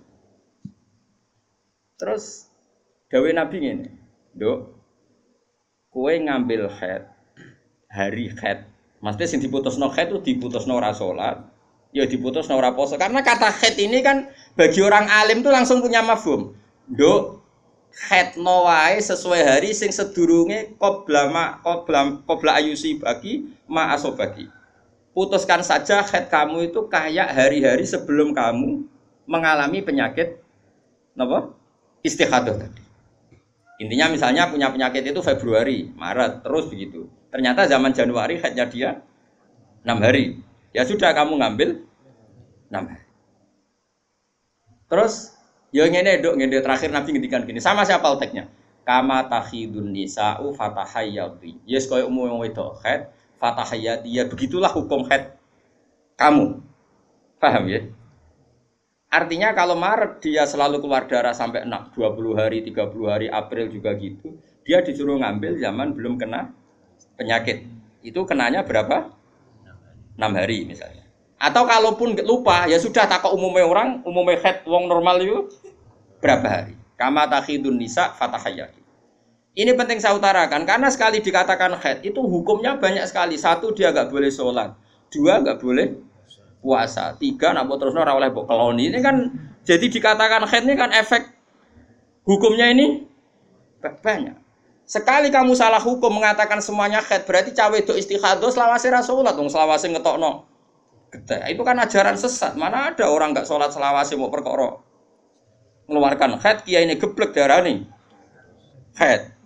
Terus dawuh Nabi ngene, "Nduk, kowe ngambil haid hari haid. Maksudnya sing diputusno haid itu diputusno ora salat, ya diputusno ora poso. Karena kata haid ini kan bagi orang alim tuh langsung punya mafhum. Nduk, haidno wae sesuai hari sing sedurunge qabla ma qabla qabla ayusi bagi ma asobagi. Putuskan saja haid kamu itu kayak hari-hari sebelum kamu mengalami penyakit apa? Istikhadah tadi. Intinya misalnya punya penyakit itu Februari, Maret, terus begitu. Ternyata zaman Januari haidnya dia enam hari. Ya sudah kamu ngambil enam hari. Terus ya ngene nduk ngene terakhir Nabi ngendikan gini, sama siapa teknya? Kama takhidun nisa'u fatahayyati. Yes koyo umum wong wedok haid fatahayyati, ya begitulah hukum haid kamu. Paham ya? Artinya kalau Maret dia selalu keluar darah sampai dua puluh hari, tiga puluh hari, April juga gitu. Dia disuruh ngambil zaman belum kena penyakit. Itu kenanya berapa? enam hari misalnya. Atau kalaupun lupa, ya sudah takok umumnya orang, umumnya haid wong normal itu berapa hari? Kama takhidun nisa fatahayyati. Ini penting saya utarakan karena sekali dikatakan haid itu hukumnya banyak sekali. Satu dia enggak boleh sholat, dua enggak boleh puasa, tiga nak terusno ora oleh mbok keloni. Ini kan jadi dikatakan haid ini kan efek hukumnya ini banyak. Sekali kamu salah hukum mengatakan semuanya haid berarti cawe wedok istikhadah selawase ra salat wong selawase ngetokno. Itu kan ajaran sesat. Mana ada orang enggak sholat selawase mau perkara mengeluarkan haid, kiai ini geblek darani haid.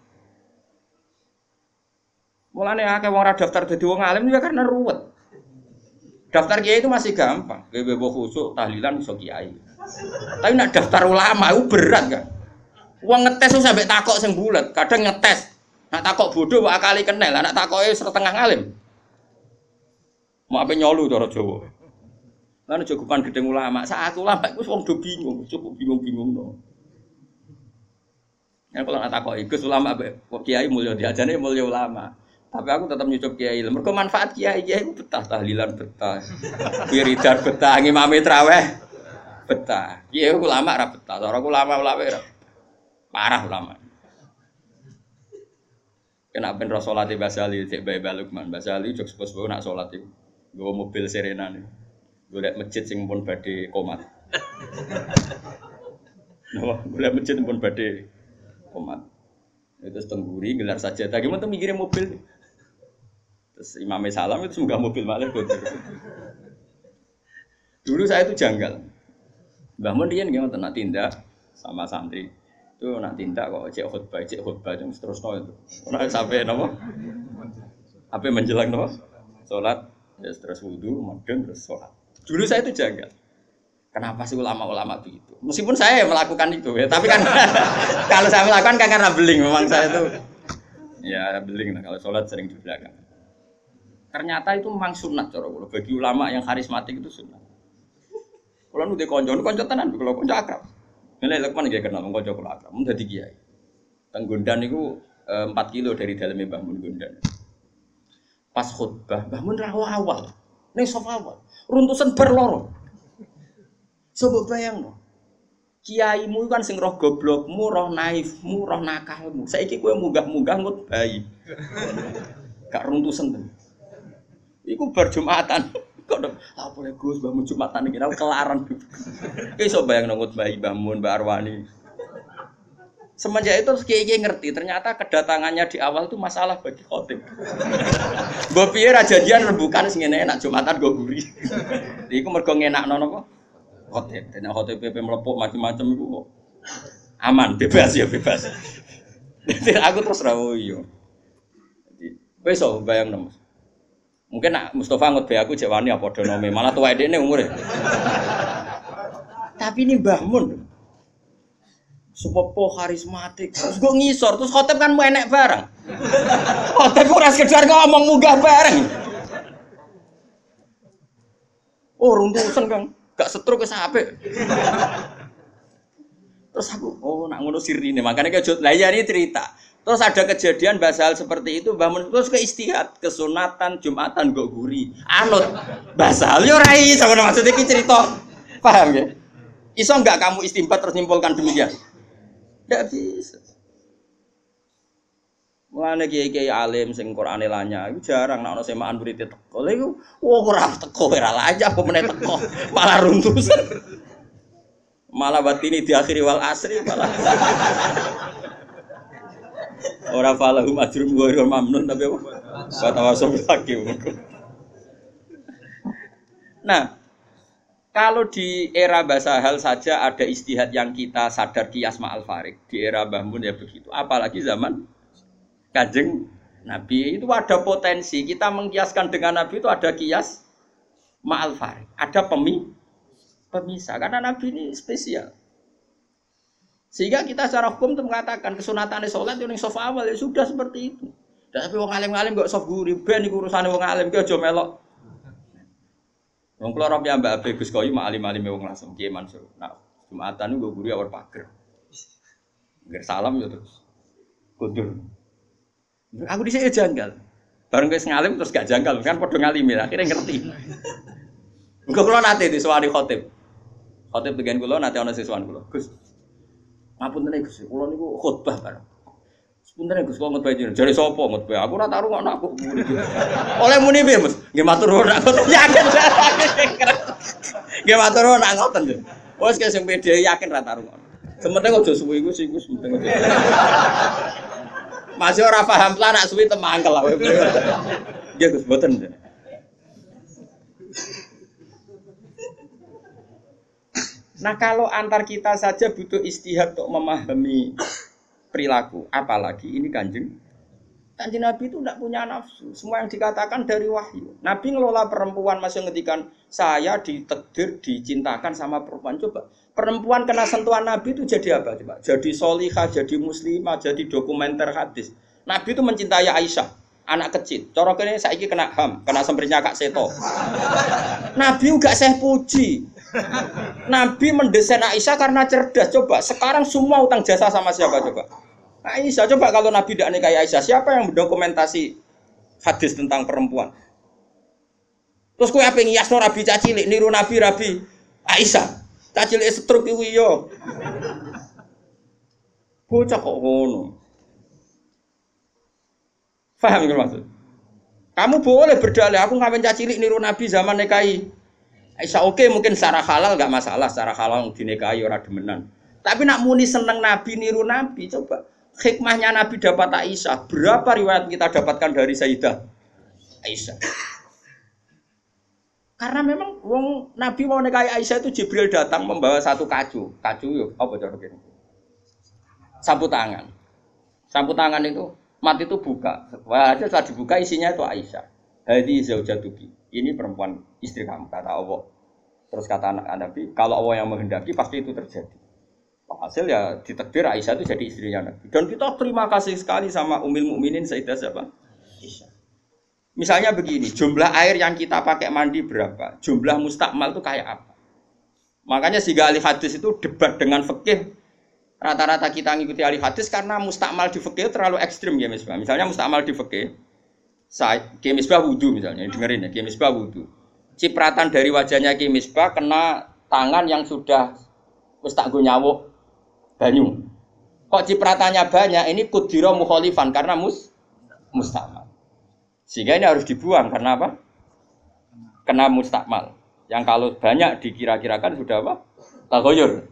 Mulane akeh wong ora daftar dadi wong alim ya karena ruwet. Daftar kiai itu masih gampang, bebo khusuk tahlilan iso kiai. Tapi nak daftar ulama itu berat kan. Wong ngetes sampai takok sing bulet, kadang ngetes. Nak takok bodoh kok akali kenel, nak takoke setengah alim. Mau apa nyolu cara Jawa. Lan jogopan gedeng ulama, saat ulama iku wong do bingung, cukup bingung-bingung no. Ya kalau nak takoki Gus ulama kok kiai mulya diajane mulya ulama. Tapi aku tetap nyucup kiai. Mergo manfaat kiai kiai ku betah tahlilan betah. Wiridan betah, ngimami traweh betah. Kiai ulama ra betah, ora ulama-ulama ra. Parah ulama. Kena ben salat e Basali cek bae Balukman. Basali jog sepo-sepo nak salat iku. Nggawa mobil Serena nih. Golek masjid sing pun badhe komat. Napa golek masjid pun badhe komat. Itu tengguri gelar saja. Tadi mau mikirin mobil. Terus Imam Salam itu semoga mobil malah kotor. Dulu saya itu janggal. Mbah Mun riyen nggih wonten nak tindak sama santri. Itu nak tindak kok cek khutbah, cek khutbah terus terusno itu. Ora sampai napa? Apa menjelang napa? Salat, ya terus wudu, madeng terus salat. Dulu saya itu janggal. Kenapa sih ulama-ulama begitu? Meskipun saya melakukan itu ya, tapi kan kalau saya melakukan kan karena beling, memang saya itu ya beling lah kalau sholat sering di belakang. Ternyata itu memang sunat cara kula. Bagi ulama yang karismatik itu sunat. Kula nu de kanca, kanca tenan kula kanca akrab. Nek Lukman nggih kenal kanca kula akrab, mun dadi kiai. Teng Gondan niku empat kilo dari daleme Mbah Mun Gondan. Pas khutbah, Mbah Mun ra awal. Ning sofa awal. Runtusan bar loro. Coba bayang no. Kiaimu kan sing roh goblokmu, roh naifmu, roh nakalmu. Saiki kowe munggah-munggah ngut bayi. Gak runtusen ten. Iku bar Jumatan. Kok lha boleh Gus mbahmu Jumatan iki aku kelaran. Iso bayangno ngut bayi Mbah Mun, Mbak Arwani. Semenjak itu kiai-kiai ngerti ternyata kedatangannya di awal itu masalah bagi khotib. Mbok piye ra janjian rembukan sing ngene enak Jumatan go guri. Iku mergo ngenakno napa? Khotib. Nek khotib P P mlepuk macam-macam iku kok aman, bebas ya bebas. Aku terus ra yo. Jadi wis so bayangno. Mungkin nak Mustofa ngut be aku jek wani apa padha nome, malah tuwek dekne umure. Tapi ini Mbah Mun sepopo karismatik, terus gue ngisor, terus khotib kan mau enek bareng. Khotib ora sekedar ngomong munggah bareng. Oh runtusan Kang, gak setruk wis apik. Terus aku, oh nak ngono sirine, makanya kejut. Lah ya ini cerita. Terus ada kejadian basal seperti itu, Mbah Mun terus ke istihad, kesunatan, Jumatan gak guri. Anut basal yo ora iso ngono maksud iki cerita. Paham ya? Iso enggak kamu istimbat terus nyimpulkan demikian? Enggak bisa. Mulane kiai-kiai alim sing Qur'ane lanya iku jarang nek ana semaan murid teko. Lha iku wah ora teko ora lanya apa meneh teko, malah runtusan. Malah batini di akhiri wal asri malah. Ora falahum ajrum ghairu mamnun tapi apa? Fatawasul hakim. Nah, kalau di era bahasa hal saja ada istihad yang kita sadar kias ma'al farik. Di era Mbah Mun ya begitu. Apalagi zaman Kanjeng Nabi itu ada potensi. Kita mengkiaskan dengan Nabi itu ada kias ma'al farik. Ada pemi, pemisah. Karena Nabi ini spesial. Sehingga kita secara hukum itu mengatakan kesunatan sholat yang soft awal ya sudah seperti itu. Tapi wong alim-alim gak soft guri. Ben iku urusane wong alim ki aja melok. Wong kula ora piyambak Abe Gus Koyu mak alim-alime wong langsung Kiai Mansur. Nah, Jumatan niku guru awal pager. Ngger salam ya terus. Kundur. Aku dhisik janggal. Bareng wis ngalim terus gak janggal kan padha ngalimi akhirnya ngerti. Engko kula nate disuwani khotib. Khotib dengan kula nate ana siswan kula. Gus. Ngapunten Gus, kula niku khotbah bareng. Sebenarnya Gus kok ngutbah jenengan. Jare sapa ngutbah? Aku ora taruh ngono aku. Oleh muni piye, Mas? Nggih matur nuwun aku yakin. Nggih matur nuwun nak ngoten. Wes sing pede yakin ra taruh ngono. Sementing aja suwi iku sing wis penting aja. Masih ora paham lah nak suwi temangkel kowe. Nggih Gus mboten. Nah kalau antar kita saja butuh istihad untuk memahami perilaku, apalagi ini kanjeng kanjeng Nabi itu tidak punya nafsu, semua yang dikatakan dari wahyu. Nabi ngelola perempuan masih ngetikan saya ditakdir dicintakan sama perempuan. Coba perempuan kena sentuhan Nabi itu jadi apa coba? Jadi solihah, jadi muslimah, jadi dokumenter hadis. Nabi itu mencintai Aisyah, anak kecil. Cara kene saiki kena ham, kena semprinya Kak Seto. Nabi enggak saya puji. Nabi mendesain Aisyah karena cerdas. Coba sekarang semua utang jasa sama siapa coba? Aisyah. Coba kalau Nabi tidak nikahi Aisyah, siapa yang mendokumentasi hadis tentang perempuan? Terus kowe ape ngiyasno Rabi cacilik niru Nabi Rabi Aisyah. Cacilik setruk iku yo. Bocah kok ngono. Paham nggih maksud? Kamu boleh berdalih aku ngawin cacilik niru Nabi zaman nikahi Aisyah oke okay, mungkin secara halal enggak masalah, secara halal dinikahi ora demenan. Tapi nak muni seneng Nabi niru Nabi, coba hikmahnya Nabi dapat Aisyah. Berapa riwayat kita dapatkan dari Sayyidah Aisyah? Karena memang wong Nabi mau nikahi Aisyah itu Jibril datang membawa satu kacu. Kacu yo apa cara kene? Sapu tangan. Sapu tangan itu mati itu buka. Wah, setelah dibuka isinya itu Aisyah. Hadi zaujatuki. Ini perempuan istri kamu kata Allah. Terus kata anak Nabi, kalau Allah yang menghendaki pasti itu terjadi. Hasil ya ditakdir Aisyah itu jadi istrinya Nabi. Dan kita terima kasih sekali sama Ummul Mukminin Sayyidah siapa? Aisyah. Misalnya begini, jumlah air yang kita pakai mandi berapa? Jumlah mustakmal itu kayak apa? Makanya sehingga ahli hadis itu debat dengan fikih. Rata-rata kita ngikuti ahli hadis karena mustakmal di fikih terlalu ekstrim ya misalnya. Misalnya mustakmal di fikih. Saya Ki Misbah wudu misalnya, dengerin ya, Ki Misbah wudu. Cipratan dari wajahnya Ki Misbah kena tangan yang sudah wis tak nggo nyawuk banyu. Kok cipratannya banyak, ini kudira mukhalifan karena mus mustakmal. Sehingga ini harus dibuang karena apa? Kena mustakmal. Yang kalau banyak dikira-kirakan sudah apa? Taghayyur.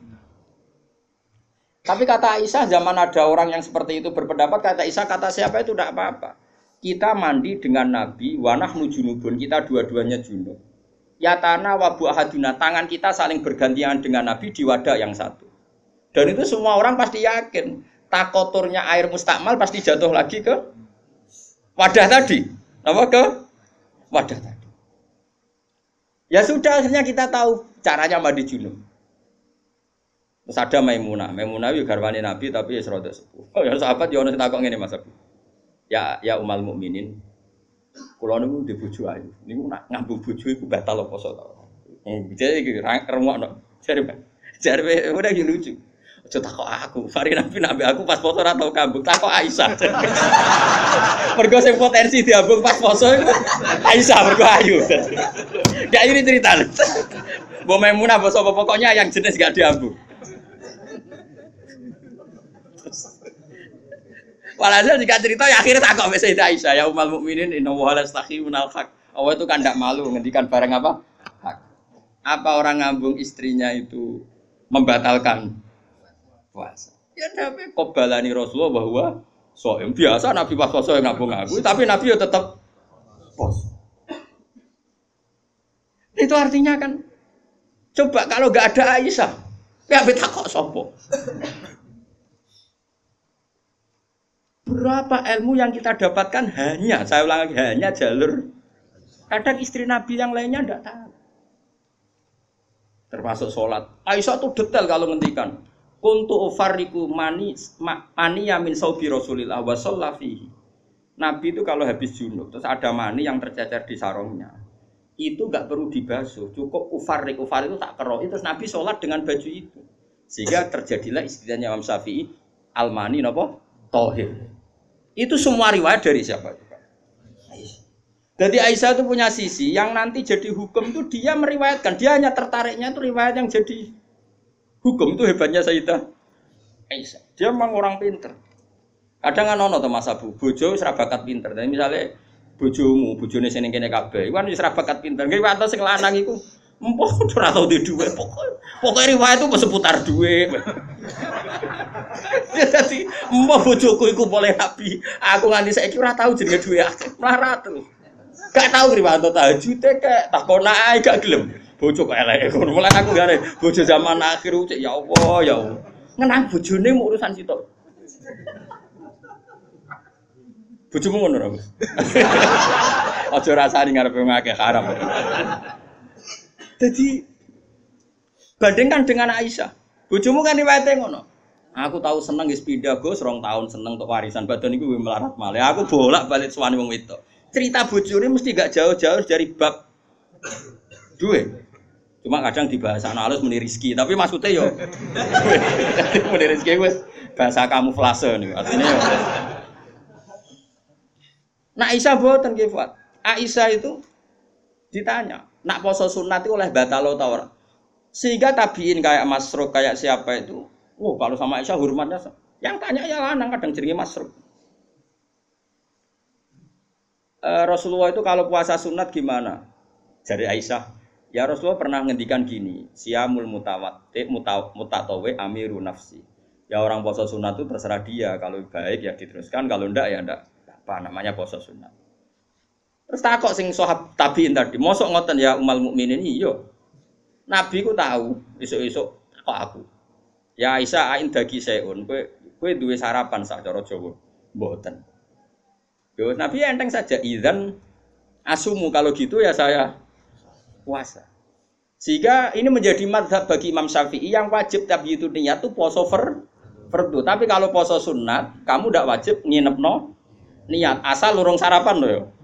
Tapi kata Aisyah, zaman ada orang yang seperti itu berpendapat, kata Aisyah, kata siapa itu tidak apa-apa. Kita mandi dengan Nabi, wa nahnu junubun, kita dua-duanya junub. Yatana wa bu ahaduna, tangan kita saling bergantian dengan Nabi di wadah yang satu. Dan itu semua orang pasti yakin, takoturnya air mustakmal pasti jatuh lagi ke wadah tadi. Apa ke wadah tadi. Ya sudah, akhirnya kita tahu caranya mandi junub. Terus ada Maimunah, Maimunah itu garwane Nabi tapi ya serodok sepuh. Oh ya sahabat ya ono takok ngene Mas Abu. Ya ya umal mukminin. Kula niku ndek bojo ayu. Niku nak ngambung bojo iku batal apa poso to. Eh jadi iki rungokno. Jare jare udah iki lucu. Aja takok aku, mari Nabi nabi aku pas poso ora tau kambung, takok Aisyah. Mergo sing potensi diambung pas poso iku Aisyah mergo ayu. Gak ini cerita. Mbok Maimunah mbok sapa pokoknya yang jenis gak diambung. Walhasil jika cerita ya akhirnya tak kok Sayyidah Aisyah ya ummul mukminin inna wa la yastahi minal haq. Allah itu kan tidak malu ngendikan barang apa? Hak. Apa orang ngambung istrinya itu membatalkan puasa? Ya tapi qobalani Rasulullah bahwa soem biasa Nabi pas puasa yang ngambung aku, tapi Nabi ya tetap puasa. Itu artinya kan coba kalau enggak ada Aisyah, ya bet takok sapa? Berapa ilmu yang kita dapatkan hanya, saya ulang lagi, hanya jalur. Kadang istri Nabi yang lainnya tidak tahu. Termasuk sholat. Aisyah tuh detail kalau ngendikan. Kuntu ufarriku mani mani yamin saubi Rasulillah wa shallafihi. Nabi itu kalau habis junub, terus ada mani yang tercecer di sarungnya. Itu enggak perlu dibasuh, cukup ufarrik, ufar itu tak kero. Terus Nabi sholat dengan baju itu. Sehingga terjadilah istilahnya Imam Syafi'i al-mani napa? Tohir. Itu semua riwayat dari siapa? Aisyah. Jadi Aisyah itu punya sisi yang nanti jadi hukum itu dia meriwayatkan. Dia hanya tertariknya itu riwayat yang jadi hukum. Itu hebatnya Sayyidah Aisyah. Dia memang orang pinter. Kadang kan ono to Mas Abu, bojo wis ra bakat pinter. Jadi misalnya bojomu, bojone sing kene kabeh, iku kan wis ra bakat pinter. Nggih wae sing lanang iku empuk ora tau duwe dhuwit pokok. Pokoke riwayat itu seputar dhuwit. Ya dadi mbah bojoku iku boleh nabi. Aku nganti saiki ora tau jenenge dhuwit akeh. Melarat terus. Gak tau riwayat tahajude kek takon ae gak gelem. Bojo kok eleke ngono. Mulane aku gare bojo zaman akhir cek ya Allah ya Allah. Ngenang bojone mu urusan sitok. Bojomu ngono ora, Mas? Aja rasani ngarepe ngakeh haram. Jadi bandingkan dengan Aisyah. Bojomu kan riwayate ngono. Aku tahu seneng wis pindah Gus, rong tahun seneng untuk warisan badan iku melarat malih. Aku bolak-balik suwani wong wedok. Cerita bojone mesti gak jauh-jauh dari bab duwe. Cuma kadang di bahasa halus muni rezeki, tapi maksudnya yo muni rezeki wis bahasa kamuflase niku. Artinya yo. Nah Aisyah boten nggih, Fuad. Aisyah itu ditanya, nak poso sunat itu oleh batal atau ora? Sehingga tabiin kayak Masruq kayak siapa itu, oh kalau sama Aisyah hormatnya, yang tanya ya lanang kadang jenenge Masruq. E, Rasulullah itu kalau puasa sunat gimana? Jadi Aisyah, ya Rasulullah pernah ngendikan gini, siamul mutawati mutatawe amiru nafsi. Ya orang puasa sunat itu terserah dia, kalau baik ya diteruskan, kalau ndak ya ndak. Apa namanya puasa sunat. Terus takok sing sahab tabiin tadi, mosok ngoten ya umal mukminin iya. Nabi ku tahu, esuk-esuk kok aku. Ya Aisyah ain dagi seun, kowe kowe duwe sarapan sak cara Jawa. Mboten. Yo Nabi enteng saja idzan asumu kalau gitu ya saya puasa. Sehingga ini menjadi mazhab bagi Imam Syafi'i yang wajib tabiitu niat itu poso fer fardu. Tapi kalau poso sunat, kamu ndak wajib nginepno niat asal lurung sarapan loh ya.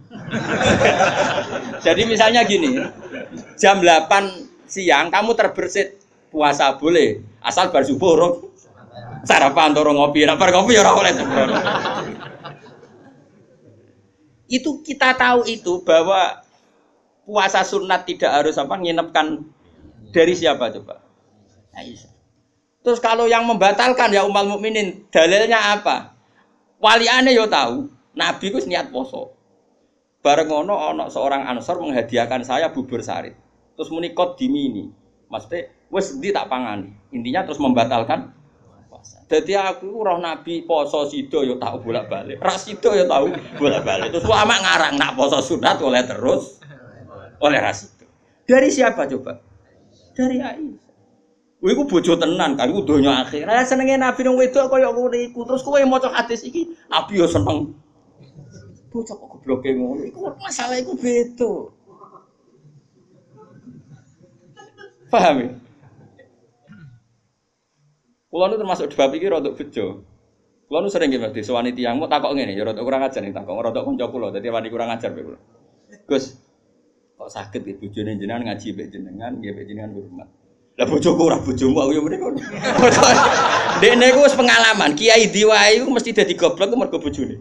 Jadi misalnya gini, jam delapan siang kamu terbersit puasa boleh, asal bar subuh urung sarapan atau ngopi, nek bar ngopi ya ora oleh. Itu kita tahu itu bahwa puasa sunat tidak harus apa nginepkan dari siapa coba? Aisyah. Terus kalau yang membatalkan ya ummul mukminin, dalilnya apa? Waliane yo tahu, Nabi ku niat poso. Bareng ngono ana seorang Ansor menghadiahkan saya bubur sarit. Terus muni qad dimini. Maksudnya wis ndi tak pangani. Intinya terus membatalkan puasa. Dadi aku roh Nabi poso sida yo tak bolak-balik. Ra sida yo tahu bolak-balik. Terus ulama ngarang nak poso sunat oleh terus oleh ra sida. Dari siapa coba? Dari Aisyah. Kowe iku bojo tenan kan iku donya akhir. Lah senenge Nabi nang wedok kaya ngono iku. Terus kowe maca hadis iki Nabi yo seneng. Bocah kok gobloke ngono iku masalah iku beda. Paham ya? Kulo nu termasuk bab iki rada bejo. Kulo nu sering nggih Mas disowani tiyang mau takok ngene ya rada kurang ajar nih takok rada kanca kula dadi wani kurang ajar bae kula. Gus kok saged iki bojone jenengan ngaji mbek jenengan nggih mbek jenengan hormat. Lah bojoku ora bojomu aku yo mrene kono. Dekne ku wis pengalaman, kiai diwae iku mesti dadi goblok ku mergo bojone.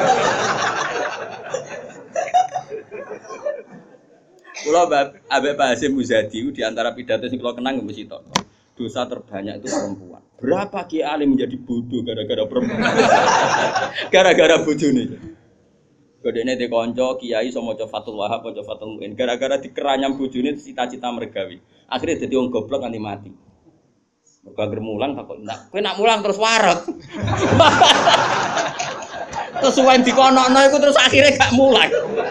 Kula ambek Pak Hasyim Muzadi di antara pidato sing kula kenang mesti tok. Dosa terbanyak itu perempuan. Berapa kiai alim menjadi bodoh gara-gara perempuan? Gara-gara bojone. Godene de kanca kiai iso maca Fathul Wahab, maca Fathul Muin. Gara-gara dikeranyam bojone cita-cita mergawe. Akhirnya dadi wong goblok nganti mati. Mergo anggere mulang takok, "Nak, kowe nak mulang terus wareg." Terus suwen dikonokno iku terus akhirnya gak mulang.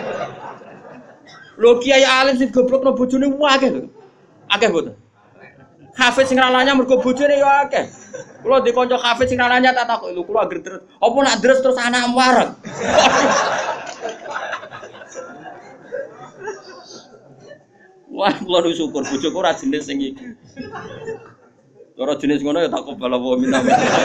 Lho kiai alim sing goblokno bojone akeh lho. Akeh mboten. Hafiz sing ralanya mergo bojone ya akeh. Kula di kanca hafiz sing ralanya tak takok, "Lho kula anggere terus, apa nak deres terus anak wareg?" Wah, kula nu syukur bojoku ora jenis sing iki. Ora jenis ngono ya tak kobal apa minta.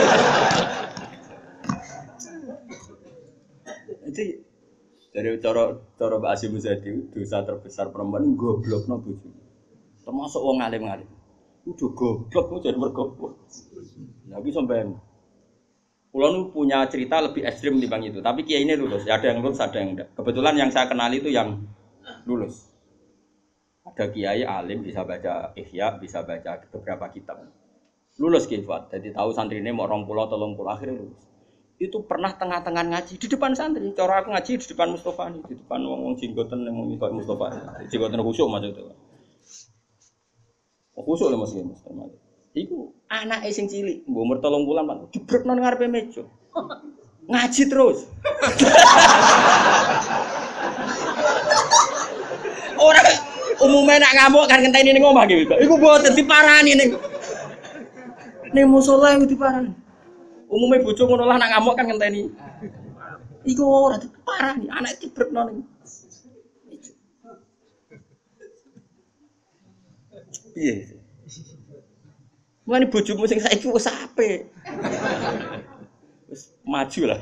Jadi dari cara cara Mbak Hasyim Muzadi dosa terbesar perempuan goblokno bojone. Termasuk wong alim-alim. Udah goblok kok jadi mergo. Lah iki sampean. Kula nu punya cerita lebih ekstrim dibanding itu, tapi kiai ini lulus. Ya ada yang lulus, ada yang enggak. Kebetulan yang saya kenali itu yang lulus. Ada kiai alim bisa baca Ihya, bisa baca beberapa kitab. Lulus kifat. Jadi tahu santrine mau rong puluh atau telung puluh akhirnya lulus. Itu pernah tengah-tengah ngaji di depan santri. Cara aku ngaji di depan Mustofa nih, di depan wong-wong jenggoten yang mau kayak Mustofa. Jenggoten khusyuk maksudnya. Oh, khusyuk lho Mas iki Mas. Iku anake sing cilik, mbok umur telung puluh Pak, dibrekno nang ngarepe meja. Ngaji terus. Ora umume nak ngamuk kan ngenteni ning omah iki. Iku mboten diparani ning ning musala iku diparani. Umume bojo ngono lah nak ngamuk kan ngenteni. Iku ora diparani, anake dibrekno ning. Piye? Mane bojomu sing saiki wis apik. Wis maju lah.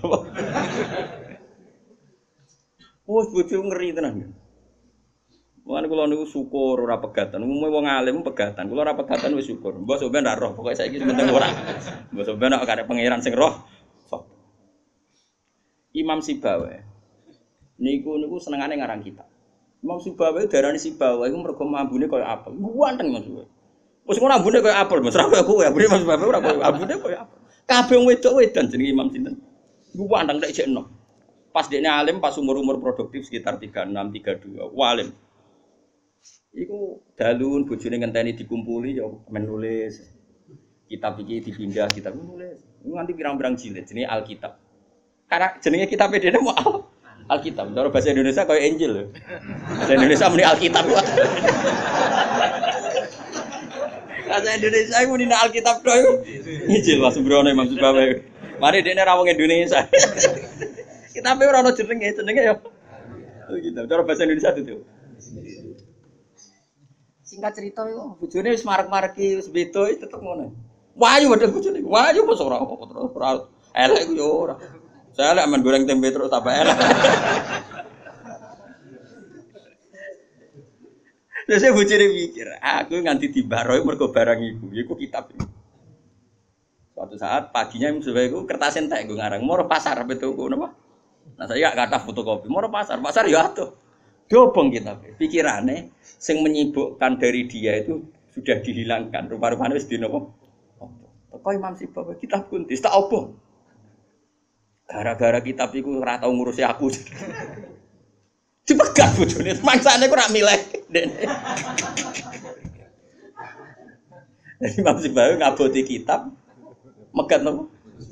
Wes bojomu ngeri tenan. Mane kula niku syukur ora pegatan. Umume wong alim pegatan. Kula ora pegatan wis syukur. Mbok sampeyan ra roh, pokoke saiki penting ora. Mbok sampeyan nek arep pangeran sing roh. Imam Sibawa. Niku niku senengane ngarang kitab. Imam Sibawa darani Sibawa iku mergo ambune kaya apel. Buanteng Mas. Wis ngono ambune kaya apel, Mas. Ora kaya kowe, ambune Mas Sibawa ora kaya ambune kaya apel. Kabeh wong wedok wedan jenenge Imam sinten. Buanteng nek jek enom. Pas dekne alim pas umur-umur produktif sekitar tiga puluh enam tiga puluh dua. Walim. Iku dalun bojone ngenteni dikumpuli ya men nulis. Kitab iki dipindah, kitab nulis. Nganti pirang-pirang jilid jenenge Alkitab. Karena jenenge kitab dene mau Alkitab. Cara bahasa Indonesia kaya Injil lho. Bahasa Indonesia muni Alkitab. Bahasa Indonesia muni Alkitab tok iku. Injil Mas Brono Imam Sibawa. Mari dekne ra wong Indonesia. Kitabe ora ono jenenge, jenenge ya Alkitab. Cara bahasa Indonesia itu. Singkat cerita iku bojone wis marek-mareki wis beda tetep ngono. Wayu padha bojone. Wayu mos ora apa terus ora elek ku yo ora. Saya elek men goreng tempe terus tambah elek. Terus saya bojone mikir, aku nganti dibarohi mergo barang iku, iku kitab iki. Suatu saat paginya Mustafa iku kertas entek nggo ngarang, moro pasar apa tuku napa? Nah saya gak kata fotokopi, moro pasar, pasar ya atuh. Dobong kitab. Pikirane sing menyibukkan dari dia itu sudah dihilangkan. Rupa-rupane wis dino apa? Teko Imam Sibawai kitab kunti tak opo. Gara-gara kitab iku ora tau ngurusi aku. Dipegat bojone, mangsane ku ora milih. Jadi Imam Sibawai ngaboti kitab megat nopo?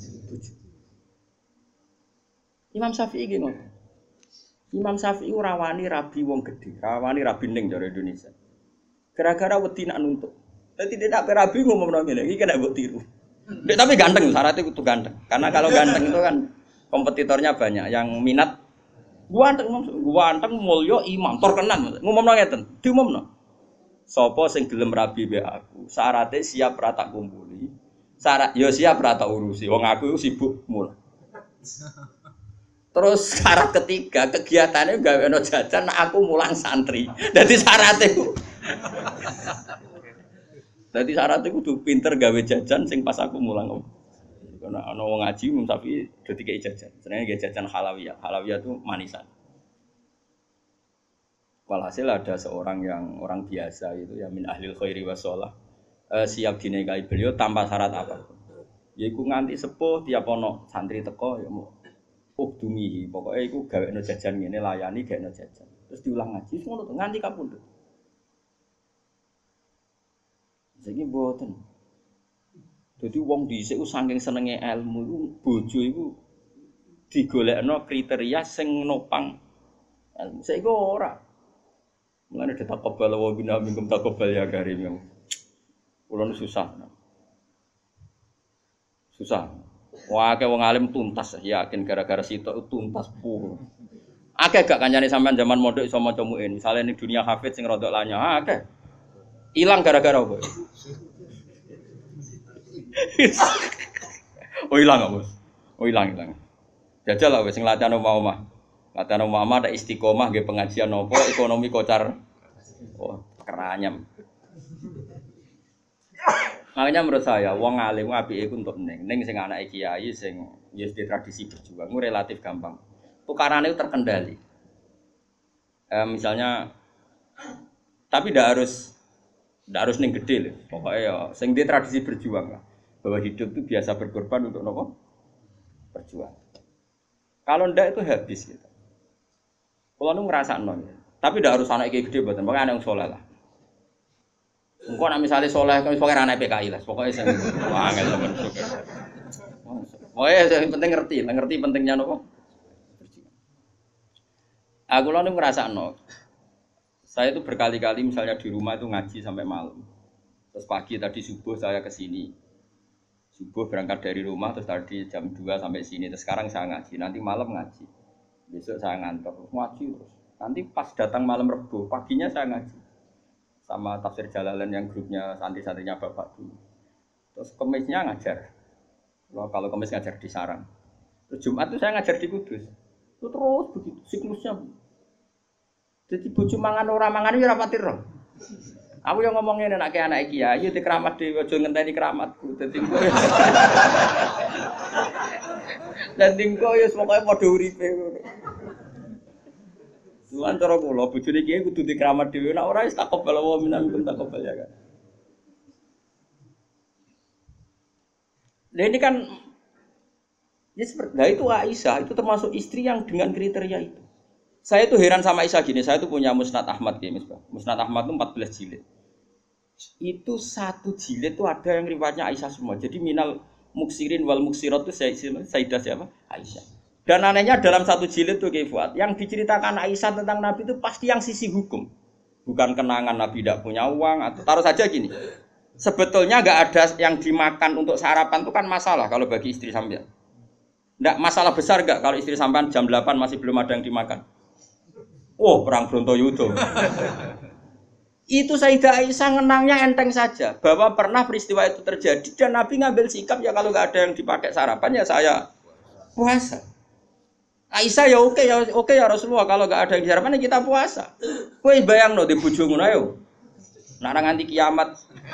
Imam Syafi'i ki ngono. Imam Syafi'i ora wani rabi wong gedhe, ora wani rabi ning jare Indonesia. Gara-gara wedi nak nuntut. Dadi tidak rabi ngomong ngene iki kena mbok tiru. Dek, tapi ganteng, syaratnya kudu ganteng. Karena kalau ganteng itu kan kompetitornya banyak yang minat. Gua ganteng, gua ganteng mulya imam terkenal. Ngomongno ngeten, diumumno. Sapa sing gelem rabi mbek aku, syaratnya siap ra tak kumpuli. Syarat ya siap ra tak urusi. Wong aku sibuk mulah. Terus syarat ketiga, kegiatannya gawe ono jajan aku mulang santri. Dadi syaratnya ku. Dadi syaratnya kudu pinter gawe jajan sing pas aku mulang. Karena ana wong ngaji Imam Syafi'i do dikei jajan. Senenge gawe jajan halawiyah. Halawiyah itu manisan. Walhasil ada seorang yang orang biasa itu ya min ahlil khairi wassalah eh, siap dinikahi beliau tanpa syarat apa. Yaiku nganti sepuh tiap ono santri teko ya mau ukdumi pokoknya iku gawekno jajan ngene layani gawekno jajan. Terus diulang ngaji ngono nganti kapundhut. Saiki mboten. Dadi wong dhisik ku saking senenge ilmu iku bojo iku digolekno kriteria sing nopang ilmu. Saiki ora. Mulane ditakobal wa bina minkum takobal ya karim. Kulo susah. Susah. Wah, akeh wong alim tuntas yakin gara-gara sitok tuntas puh. Akeh gak kancane sampean zaman mondok iso maca muin. Misale ning dunia hafid sing rodok lanya, akeh. Ilang gara-gara apa? Oh ilang apa, Bos? Oh ilang ilang. Jajal lah wis sing latihan omah-omah. Latihan omah-omah ada istiqomah nggih pengajian apa ekonomi kocar. Oh, keranyam. Makanya menurut saya wong alim apike iku untuk ning ning sing anake kiai sing ya di tradisi berjuang itu relatif gampang. Tukarane terkendali. Eh, misalnya tapi ndak harus ndak harus ning gede lho. Pokoke ya sing di tradisi berjuang lah. Bahwa hidup itu biasa berkorban untuk nopo? Berjuang. Kalau ndak itu habis gitu. Kalau nu ngrasakno. Tapi ndak harus anak kiai gede mboten, pokoke anak saleh lah. Engko nek misale saleh kok pokoke anak P K I lah, pokoke sing angel temen syukur. Pokoke sing penting ngerti, ngerti pentingnya nopo? Aku lho ngrasakno. Saya itu berkali-kali misalnya di rumah itu ngaji sampai malam. Terus pagi tadi subuh saya ke sini. Subuh berangkat dari rumah terus tadi jam dua sampai sini. Terus sekarang saya ngaji, nanti malam ngaji. Besok saya ngantor, ngaji terus. Nanti pas datang malam Rebo, paginya saya ngaji. Sama tafsir Jalalain yang grupnya santri-santrinya Bapak dulu. Terus Kemisnya ngajar. Kalau Kemis ngajar di Sarang. Terus Jumat itu saya ngajar di Kudus. Itu terus begitu siklusnya. Jadi bojo mangan ora mangan ya ora pati roh. Aku yang ngomongin anak ke anak kiai, yo dikeramat dhewe aja ngenteni keramatku. Dadi engko. Dadi engko ya pokoke padha uripe ngono. Tuhan cara kula bojone kiai kudu dikeramat dhewe, nek ora wis takobal wa minkum takobal ya kan. Nah ini kan ya seperti nah itu Aisyah itu termasuk istri yang dengan kriteria itu. Saya itu heran sama Aisyah gini, saya itu punya Musnad Ahmad ya, Musnad Ahmad itu empat belas jilid. Itu satu jilid itu ada yang riwayatnya Aisyah semua. Jadi minal muksirin wal muksirat itu Sayyidah siapa? Aisyah. Dan anehnya dalam satu jilid itu Kifat, yang diceritakan Aisyah tentang Nabi itu pasti yang sisi hukum. Bukan kenangan Nabi tidak punya uang atau taruh saja gini. Sebetulnya enggak ada yang dimakan untuk sarapan itu kan masalah kalau bagi istri sampean. Enggak masalah besar enggak kalau istri sampean jam delapan masih belum ada yang dimakan. Oh, perang Brontoyudo. Itu Sayyidah Aisyah ngenangnya enteng saja bahwa pernah peristiwa itu terjadi dan Nabi ngambil sikap ya kalau enggak ada yang dipakai sarapan ya saya puasa. Aisyah ya oke ya oke ya Rasulullah kalau enggak ada yang sarapan ya kita puasa. Kowe bayangno di bojo ngono ayo. Nek nganti kiamat.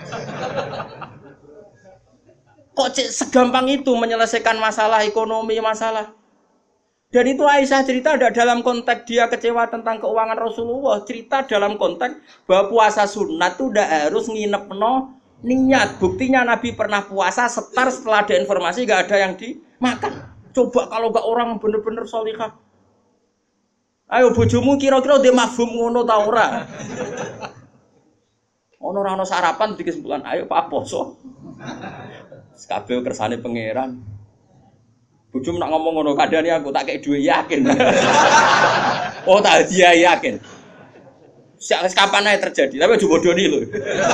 Kok segampang itu menyelesaikan masalah ekonomi masalah. Dan itu Aisyah cerita ada dalam konteks dia kecewa tentang keuangan Rasulullah. Cerita dalam konteks bahwa puasa sunat itu tidak harus nginep no Niat, buktinya Nabi pernah puasa setar setelah ada informasi gak ada yang dimakan. Coba kalau gak orang bener-bener sholihah. Ayo bojomu kira-kira dia mafhum ngono ta ora? Ono ora ono sarapan di kesimpulan, ayo Pak poso. Kabeh kersane pangeran. Bojomu nak ngomong ngono kadane aku tak kei dhuwit yakin. Oh tak dia yakin. Sak kapan ae terjadi, tapi aja bodoni lho.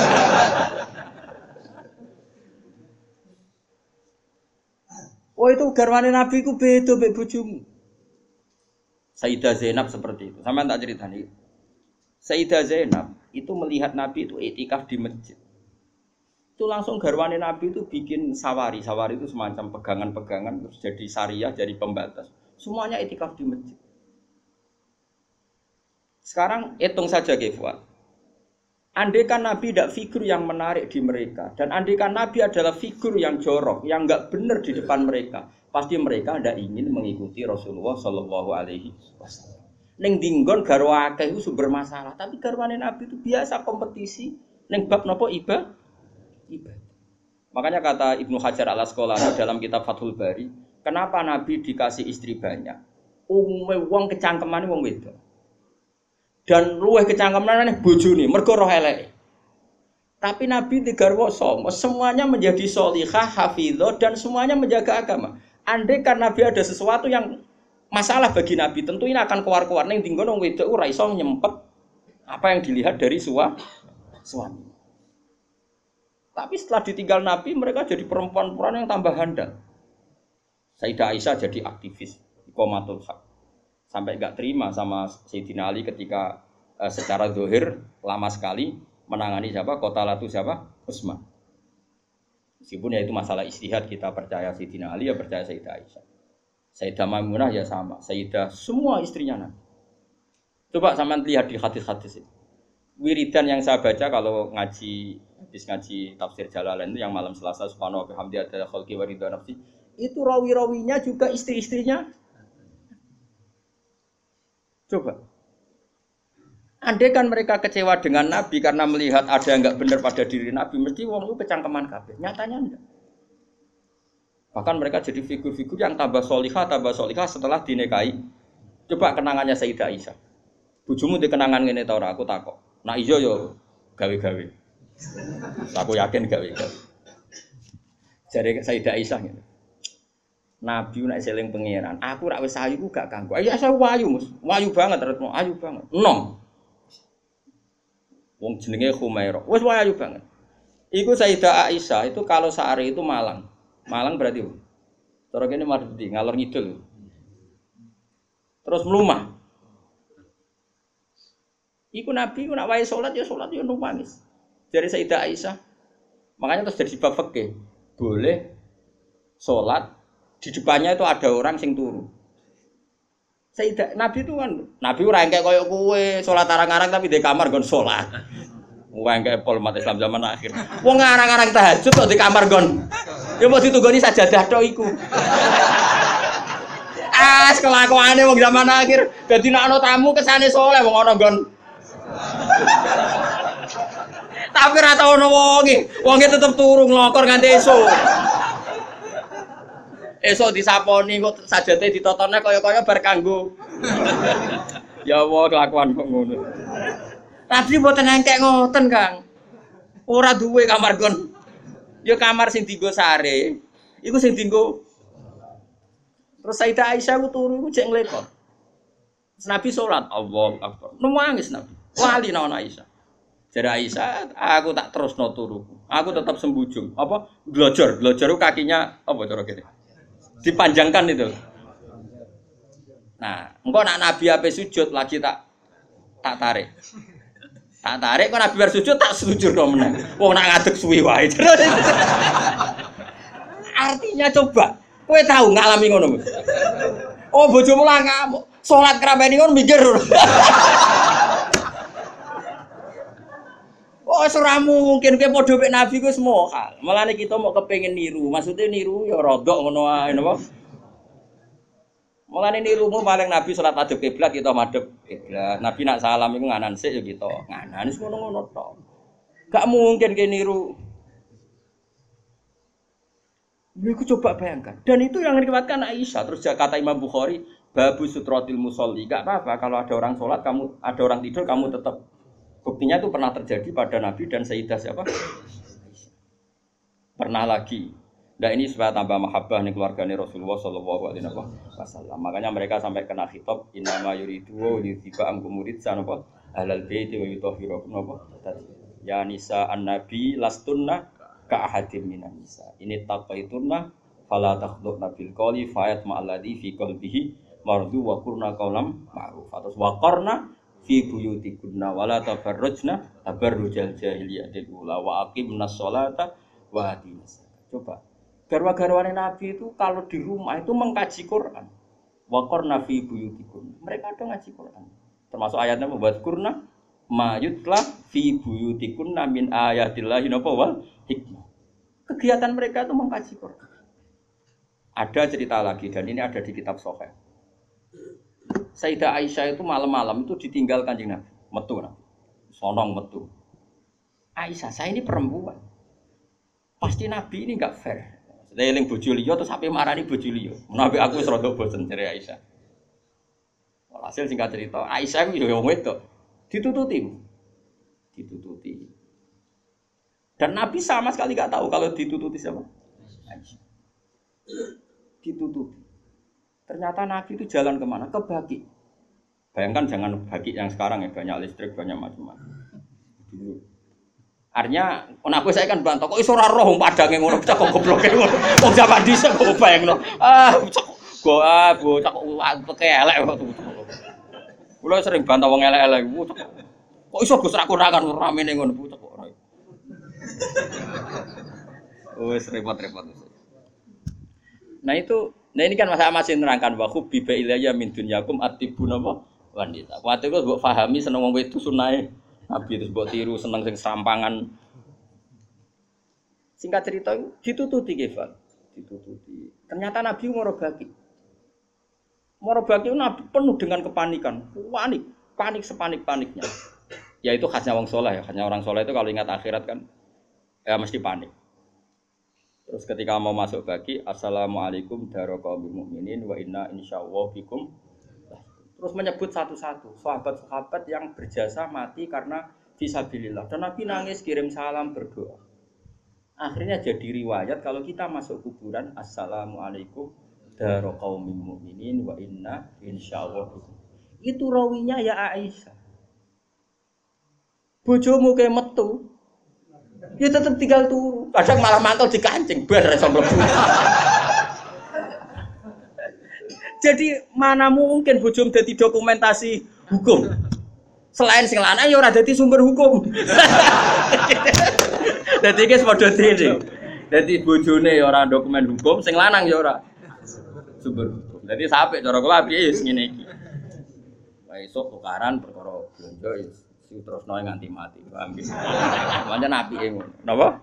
Oh itu garwane Nabi ku beda mbek bojomu. Sayyidah Zainab seperti itu. Sampeyan tak ceritani. Sayyidah Zainab itu melihat Nabi itu iktikaf di masjid. Itu langsung garwane Nabi itu bikin sawari. Sawari itu semacam pegangan-pegangan terus jadi syariah, jadi pembatas. Semuanya iktikaf di masjid. Sekarang hitung saja Kefwa. Andaikan Nabi tidak figur yang menarik di mereka dan andaikan Nabi adalah figur yang jorok, yang enggak benar di depan mereka, pasti mereka tidak ingin mengikuti Rasulullah Shallallahu Alaihi Wasallam. Neng dinggon garwa akeh itu sumber masalah, tapi garwane Nabi itu biasa kompetisi. Neng bab nopo iba, iba. Makanya kata Ibnu Hajar al Asqalani dalam kitab Fathul Bari, kenapa Nabi dikasih istri banyak? Umume wong kecangkemane wong wedok. Dan luwih kecangkeman bojone mergo roh eleke. Tapi Nabi digarwa sama, semuanya menjadi sholihah, hafizah dan semuanya menjaga agama. Andai kan Nabi ada sesuatu yang masalah bagi Nabi, tentu ini akan keluar-keluar ning dinggon wong wedok ora iso nyempet apa yang dilihat dari sua, suami. Tapi setelah ditinggal Nabi, mereka jadi perempuan-perempuan yang tambah handal. Sayyidah Aisyah jadi aktivis iqamatul haq. Sampai enggak terima sama Sayyidina Ali ketika uh, secara zahir lama sekali menangani siapa? Kota Latu siapa? Utsman. Meskipun ya itu masalah ijtihad, kita percaya Sayyidina Ali ya percaya Sayyidah Aisyah. Sayyidah Maimunah ya sama, Sayyidah semua istrinya Nabi. Coba sampean lihat di hadis-hadis itu. Wiridan yang saya baca kalau ngaji habis ngaji tafsir Jalalain itu yang malam Selasa subhanahu wa bihamdi adalah khalqi wa ridha nafsi, itu rawi-rawinya juga istri-istrinya. Coba, andai kan mereka kecewa dengan Nabi karena melihat ada yang enggak benar pada diri Nabi, mesti wong itu kecangkeman kabeh. Nyatanya enggak. Bahkan mereka jadi figur-figur yang tambah sholihah, tambah sholihah setelah dinikahi. Coba kenangannya Sayyidah Aisyah. Bojomu di kenangan ngene ta ora? Aku takok. Nah iya yo gawe-gawe. Aku yakin gawe-gawe. Jare Sayyidah Aisyah ngene. Nabi nek seling pangeran, aku rak wis ayu ku gak kanggo. Ya saya wayu, Mus. Wayu banget retno, ayu banget. Enom. Wong jenenge Khumairah. Wis wayu banget. Iku Sayyidah Aisyah itu kalau sehari itu malang. Malang berarti cara kene mardi ngalor ngidul. Terus melumah. Iku Nabi ku nak wae salat ya salat ya nangis. Dari Sayyidah Aisyah. Makanya terus jadi bab fikih. Boleh salat di depannya itu ada orang sing turu. Sayyidah Nabi itu kan Nabi ora engke koyo kowe salat arang-arang tapi di kamar nggon salat. Wong engke pol umat Islam zaman akhir. Wong arang-arang tahajud kok di kamar nggon. Ya mau ditunggoni sajadah tok iku. Ah, kelakuane wong zaman akhir. Dadi nek ana tamu kesane saleh wong ana nggon. Tapi ora tau ono wonge. Wonge tetep turu nglokor nganti esuk. Esok disaponi kok sajate ditotone kaya-kaya bar kanggo. Ya Allah kelakuan kok ngono. Tapi mboten engkek ngoten, Kang. Ora duwe kamar gon. Ya kamar sing dienggo sare. Iku sing dienggo. Terus Sayyidah Aisyah ku turu ku jek nglekor. Nabi salat, Allahu Akbar. Nangis Nabi. Wali nang Aisyah. Jare Aisyah, aku tak terusno turuku. Aku tetap sembujung. Apa? Glojor, glojor kakinya apa cara kene? Dipanjangkan itu. Nah, engko nak Nabi ape sujud lagi tak tak tarik. Tak tarik kok Nabi bar sujud tak sujud kok meneh. Wong nak ngadeg suwi wae. Artinya coba, kowe tahu ngalami ngono. Oh, bojomu lah ngamuk. Salat krameni ngono mikir. Oh, ora mungkin kowe padha mek Nabi ku semua hal. Mulane kita mau kepengin niru. Maksudnya niru ya rodok ngono wae napa? Mulane nirumu paling Nabi salat madhep kiblat kita madhep kiblat. Nabi nak salam iku nganan sik ya kita. Nganan wis ngono-ngono tok. Gak mungkin kowe niru Iku coba bayangkan. Dan itu yang diriwayatkan Aisyah. Terus kata Imam Bukhari, babu sutrotil musolli. Gak apa-apa kalau ada orang sholat, kamu ada orang tidur, kamu tetap. Buktinya itu pernah terjadi pada Nabi dan Sayyidah siapa? Pernah lagi. Nah ini supaya tambah mahabbah nih keluarganya Rasulullah Shallallahu Alaihi Wasallam. Makanya mereka sampai kena khitab innama yuridu wa yuthiba amkum murid sanapa halal baiti wa yutahhirakum napa. Ya nisa an-nabi lastunna ka ahadim minan nisa. Ini taqaitunna fala takhdhurna bil qawli fayat ma'alladhi fi qalbihi mardu wa qurna qawlam ma'ruf. Atas wa qarna fi buyutikunna wala tabarrujna tabarrujal jahiliyatil ula wa aqimnas sholata wa atinas. Coba garwa-garwane Nabi itu kalau di rumah itu mengkaji Quran. Wa qarna fi buyutikunna. Mereka ada ngaji Quran. Termasuk ayatnya membuat kurna mayutla fi buyutikunna min ayatillahi napa wal hikmah. Kegiatan mereka itu mengkaji Quran. Ada cerita lagi dan ini ada di kitab Sahih. Sayyidah Aisyah itu malam-malam itu ditinggal Kanjeng Nabi, metu Nabi. Sonong metu. Aisyah, saya ini perempuan. Pasti Nabi ini enggak fair. Saya eling bojo liya terus sampe marani bojo liya. Nabi aku wis rada bosen jare Aisyah. Hasil singkat cerita, Aisyah itu ya wong wedok. Ditututi. Ditututi. Dan Nabi sama sekali enggak tahu kalau ditututi siapa? Aisyah. Ditututi. Ternyata Nabi itu jalan kemana? Ke Baqi. Bayangkan jangan Baqi yang sekarang ya, banyak listrik, banyak macam-macam. Dulu. Artinya, aku saya kan bantah, kok iso ora roh padange ngono, cak kok gobloke ngono. Wong zaman dhisik kok bayangno. Ah, cak go ah, go cak kok elek kok. Kula sering bantah wong elek-elek. Kok iso Gus ra kurangan ramene ngono, cak kok ora. Wes repot-repot. Nah itu Nah ini kan masa masih nerangkan wa hubbiba ilayya min dunyakum atibun apa wanita. Waktu itu mbok pahami seneng wong wedok sunahe Nabi terus mbok tiru seneng sing serampangan. Singkat cerita ditututi Kefal, ditututi. Ternyata Nabi ngoro Baqi. Ngoro Baqi Nabi penuh dengan kepanikan, panik, panik sepanik-paniknya. Ya itu khasnya wong saleh ya, khasnya orang saleh itu kalau ingat akhirat kan ya mesti panik. Terus ketika mau masuk Baqi, assalamualaikum daraqaumil mukminin wa inna insyaallah bikum. Terus menyebut satu-satu sahabat-sahabat yang berjasa mati karena fisabilillah. Dan Nabi nangis kirim salam berdoa. Akhirnya jadi riwayat kalau kita masuk kuburan assalamualaikum daraqaumil mukminin wa inna insyaallah bikum. Itu rawinya ya Aisyah. Bojomu ke metu ya tetap tinggal turu. Kadang malah mantul di kancing, bar iso mlebu. Jadi mana mungkin bojom dadi dokumentasi hukum. Selain sing lanang ya ora dadi sumber hukum. Dadi iki padha dene. Dadi bojone ya ora dokumen hukum, sing lanang ya ora sumber hukum. Dadi sampe cara kula piye wis ngene iki. Wae esuk tukaran perkara blonjo wis terus noe nganti mati, paham nggih. Pancen apike ngono. Napa?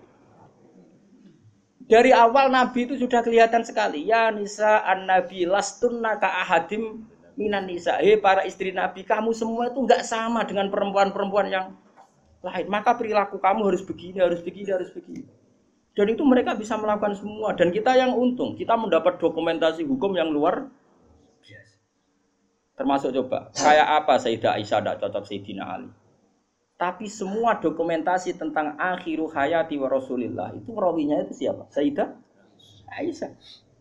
Dari awal Nabi itu sudah kelihatan sekali. Ya nisa an-nabi lastunna ka ahadim minan nisa. Hei para istri Nabi, kamu semua itu enggak sama dengan perempuan-perempuan yang lain. Maka perilaku kamu harus begini, harus begini, harus begini. Dan itu mereka bisa melakukan semua. Dan kita yang untung, kita mendapat dokumentasi hukum yang luar biasa. Termasuk coba, kayak apa Sayyidah Aisyah tidak cocok Sayyidina Ali. Tapi semua dokumentasi tentang akhiru hayati wa Rasulillah itu rawinya itu siapa? Sayyidah Aisyah.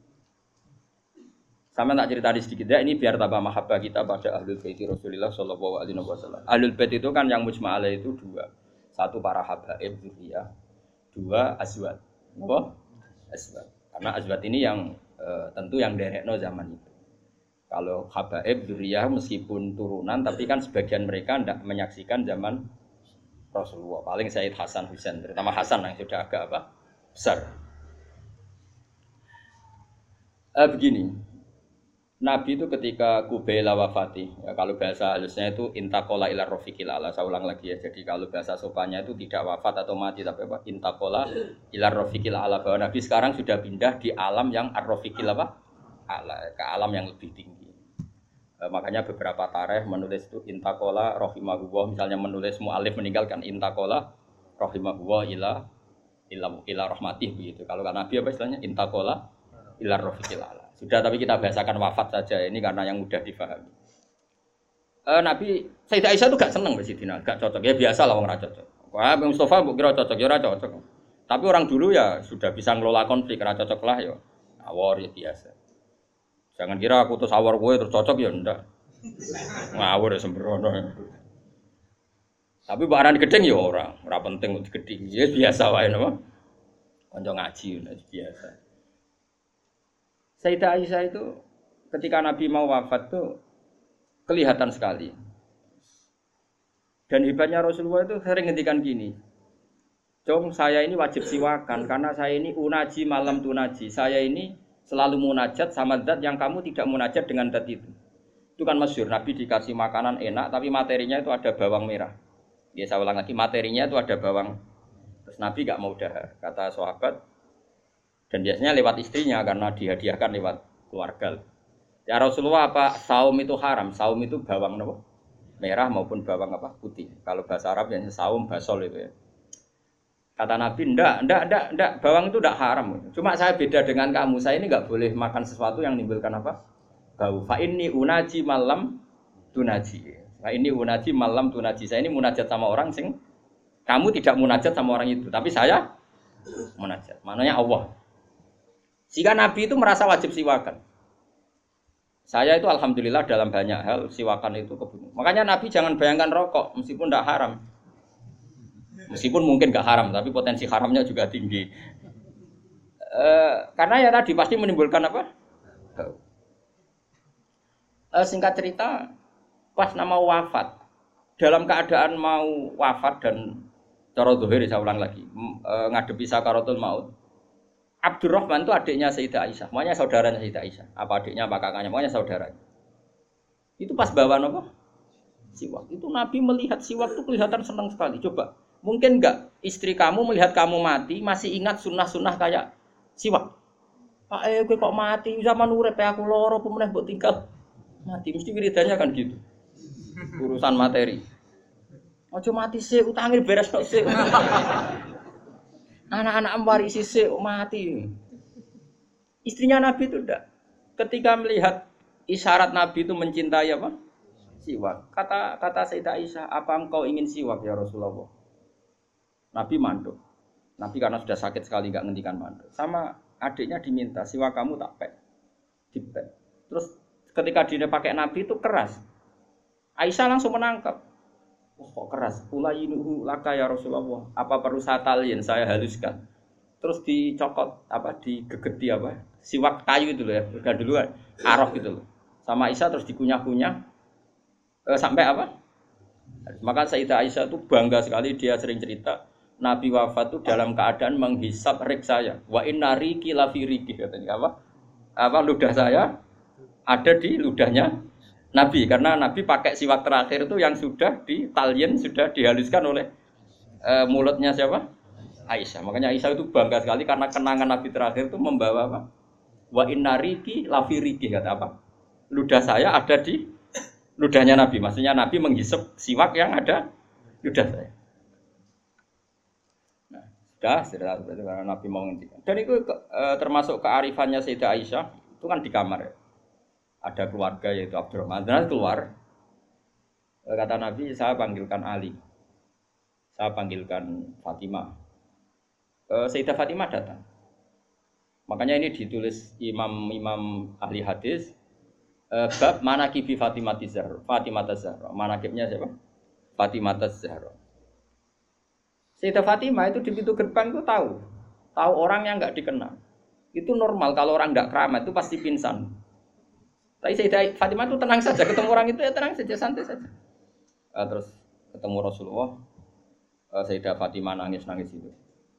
Sama tak cerita sedikit ya, ini biar tambah mahabbah kita pada Ahlul Bait Rasulillah sallallahu alaihi wasallam. Ahlul Bait itu kan yang mujma' alaih itu dua. Satu para habaib dzurriyyah, dua azwat. Apa? Azwat. Karena azwat ini yang e, tentu yang derekno zaman itu. Kalau habaib dzurriyyah meskipun turunan tapi kan sebagian mereka tidak menyaksikan zaman Rasulullah, paling Sayyid Hasan Husain, terutama Hasan yang sudah agak apa besar. Eh, begini, Nabi itu ketika Kubaila wafati, ya, kalau bahasa halusnya itu intakola ila rofiqil ala. Saya ulang lagi ya, jadi kalau bahasa sopannya itu tidak wafat atau mati, tapi apa? Intakola ila rofiqil ala, bahwa Nabi sekarang sudah pindah di alam yang ar-rofiqil apa? Ala, ke alam yang lebih tinggi. E, makanya beberapa tarikh menulis itu intakola rohimahullah, misalnya menulis mu'alif meninggalkan intakola rohimahullah ila ila ila rahmatih begitu. Kalau kan Nabi apa istilahnya intaqala ila rafiqil ala. Sudah tapi kita bahasakan wafat saja ini karena yang mudah difahami. Uh, Nabi Sayyidah Aisyah itu gak seneng Mbak Sidina, gak cocok. Ya biasa lah orang cocok. Wah, Bang Mustafa mbok kira cocok, ya ora cocok. Tapi orang dulu ya sudah bisa ngelola konflik, ora cocok lah ya. Awor ya biasa. Jangan kira aku terus awor kowe terus cocok ya ndak. Ngawur ya sembrono. Tapi barang gedeng ya ora, ora penting untuk gedeng. Ya biasa wae napa. Kanca ngaji biasa. Sayyidah Aisyah itu ketika Nabi mau wafat tuh kelihatan sekali. Dan hebatnya Rasulullah itu sering ngendikan gini. Jong saya ini wajib siwakan karena saya ini unaji malam tunaji. Saya ini selalu munajat sama zat yang kamu tidak munajat dengan zat itu. Itu kan masyhur Nabi dikasih makanan enak tapi materinya itu ada bawang merah. Ya saya ulang lagi materinya itu ada bawang. Terus Nabi gak mau dahar kata sahabat. Dan biasanya lewat istrinya karena dihadiahkan lewat keluarga. Ya Rasulullah apa saum itu haram? Saum itu bawang apa? Merah maupun bawang apa? Putih. Kalau bahasa Arab yang saum basol itu ya. Kata Nabi, ndak, ndak, ndak, ndak, bawang itu ndak haram. Cuma saya beda dengan kamu. Saya ini nggak boleh makan sesuatu yang menimbulkan apa? Bau. Fa inni unaji malam tunaji. Fa inni unaji malam tunaji. Saya ini munajat sama orang sing kamu tidak munajat sama orang itu, tapi saya munajat. Maknanya Allah. Jika Nabi itu merasa wajib siwakan. Saya itu alhamdulillah dalam banyak hal siwakan itu kebutuhan. Makanya Nabi jangan bayangkan rokok meskipun tidak haram. Meskipun mungkin gak haram, tapi potensi haramnya juga tinggi. E, karena ya tadi pasti menimbulkan apa? E, singkat cerita, pas nama wafat, dalam keadaan mau wafat dan cara zuhir saya ulang lagi, e, ngadepi sakaratul maut. Abdurrahman itu adiknya Sayyidah Aisyah, makanya saudaranya Sayyidah Aisyah. Apa adiknya, apa kakaknya, makanya saudaranya. Itu pas bawa apa? Siwak. Itu Nabi melihat siwak itu kelihatan senang sekali. Coba, mungkin enggak istri kamu melihat kamu mati masih ingat sunnah-sunnah kayak siwak. Pak eh gue kok mati zaman urip aku loro pemeneh mbok tinggal mati mesti wiridannya kan gitu. Urusan materi. Ojo mati sih utange beres tok sih. Anak-anak warisi sih mati. Istrinya Nabi itu enggak. Ketika melihat isyarat Nabi itu mencintai apa? Siwak. Kata kata Sayyidah Aisyah, "Apa engkau ingin siwak ya Rasulullah?" Nabi manduk. Nabi karena sudah sakit sekali enggak ngendikan manduk. Sama adiknya diminta, "Siwak kamu tak pek." Dipek. Terus ketika dia pakai Nabi itu keras. Aisyah langsung menangkap. Oh, kok keras? Ulayinuhu laka ya Rasulullah. Apa perlu saya talin, saya haluskan. Terus dicokot apa digegeti apa? Siwak kayu itu loh ya. Udah duluan. Arok gitu loh. Sama Aisyah terus dikunyah-kunyah e, sampai apa? Maka Sayyidah Aisyah itu bangga sekali, dia sering cerita Nabi wafat itu dalam keadaan menghisap rik saya. Wa inna riki lafi riki katanya apa? Apa ludah saya ada di ludahnya Nabi karena Nabi pakai siwak terakhir itu yang sudah ditalien, sudah dihaluskan oleh e, mulutnya siapa? Aisyah. Makanya Aisyah itu bangga sekali karena kenangan Nabi terakhir itu membawa apa? Wa inna riki lafi riki kata apa? Ludah saya ada di ludahnya Nabi. Maksudnya Nabi menghisap siwak yang ada ludah saya. Nah, sudah, sudah berarti karena Nabi mau ngendikan. Dan itu e, termasuk kearifannya Sayyidah Aisyah itu kan di kamar ya. Ada keluarga yaitu Abdurrahman. Dan keluar e, kata Nabi, saya panggilkan Ali. Saya panggilkan Fatimah. E, Sayyidah Fatimah datang. Makanya ini ditulis imam-imam ahli hadis. Uh, bab manaqibi Fatimah Zahra. Fatimah Zahra. Manaqibnya siapa? Fatimah Zahra. Sayyidah Fatimah itu di pintu gerbang itu tahu. Tahu orang yang enggak dikenal. Itu normal kalau orang enggak keramat itu pasti pingsan. Tapi Sayyidah Fatimah itu tenang saja, ketemu orang itu ya tenang saja, santai saja. Uh, terus ketemu Rasulullah, uh, Sayyidah Fatimah nangis-nangis itu.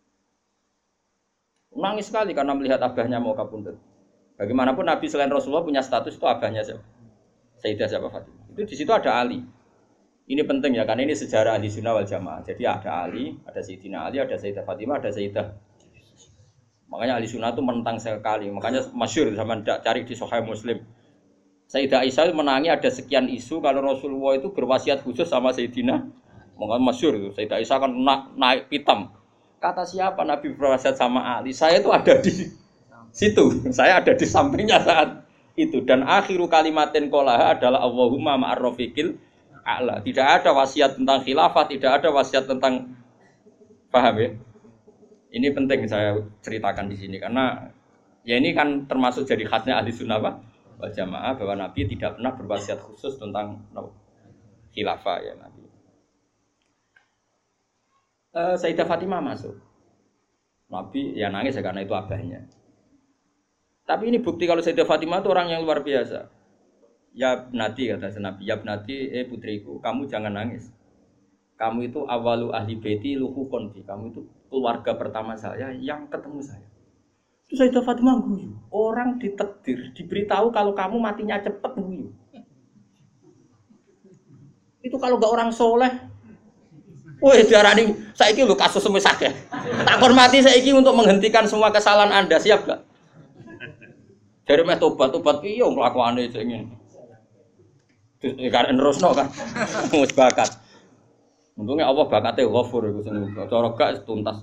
Nangis sekali karena melihat abahnya mau kapundhut. Bagaimanapun Nabi selain Rasulullah punya status itu abahnya siapa? Sayyidah siapa Fatimah. Itu di situ ada Ali. Ini penting ya karena ini sejarah ahli sunnah wal jamaah. Jadi ada Ali, ada Sayyidina Ali, ada Sayyidah Fatimah, ada Sayyidah. Makanya ahli sunnah itu menentang sekali. Makanya masyhur zaman cari di Sahih Muslim. Sayyidah Aisyah menangi ada sekian isu kalau Rasulullah itu berwasiat khusus sama Sayyidina. Makanya masyhur itu. Sayyidah Aisyah kan na- naik pitam. Kata siapa Nabi berwasiat sama Ali? Saya itu ada di situ. Saya ada di sampingnya saat itu. Dan akhiru kalimatin qolaha adalah Allahumma ma'ar rafiqil a'la. Tidak ada wasiat tentang khilafah, tidak ada wasiat tentang, paham ya? Ini penting saya ceritakan di sini karena ya ini kan termasuk jadi khasnya ahli sunnah wal jamaah bahwa Nabi tidak pernah berwasiat khusus tentang no, khilafah ya Nabi. Uh, Sayyidah Fatimah masuk. Nabi ya nangis ya karena itu abahnya. Tapi ini bukti kalau Sayyidah Fatimah itu orang yang luar biasa. Ya Nabi kata Nabi, ya Nabi, eh putriku, kamu jangan nangis. Kamu itu awalu ahli baiti luhu konfi. Kamu itu keluarga pertama saya yang ketemu saya. Itu Sayyidah Fatimah guyu. Orang ditakdir, diberitahu kalau kamu matinya cepat guyu. Itu kalau gak orang soleh. Woi diarani saiki lho kasus semisah ya. Tak hormati saiki untuk menghentikan semua kesalahan Anda, siap gak? Dari meh tobat-tobat piye kelakuane sing ngene. Karek nerusno kan. Wis bakat. Untungnya Allah bakate ghafur iku sing cara gak tuntas.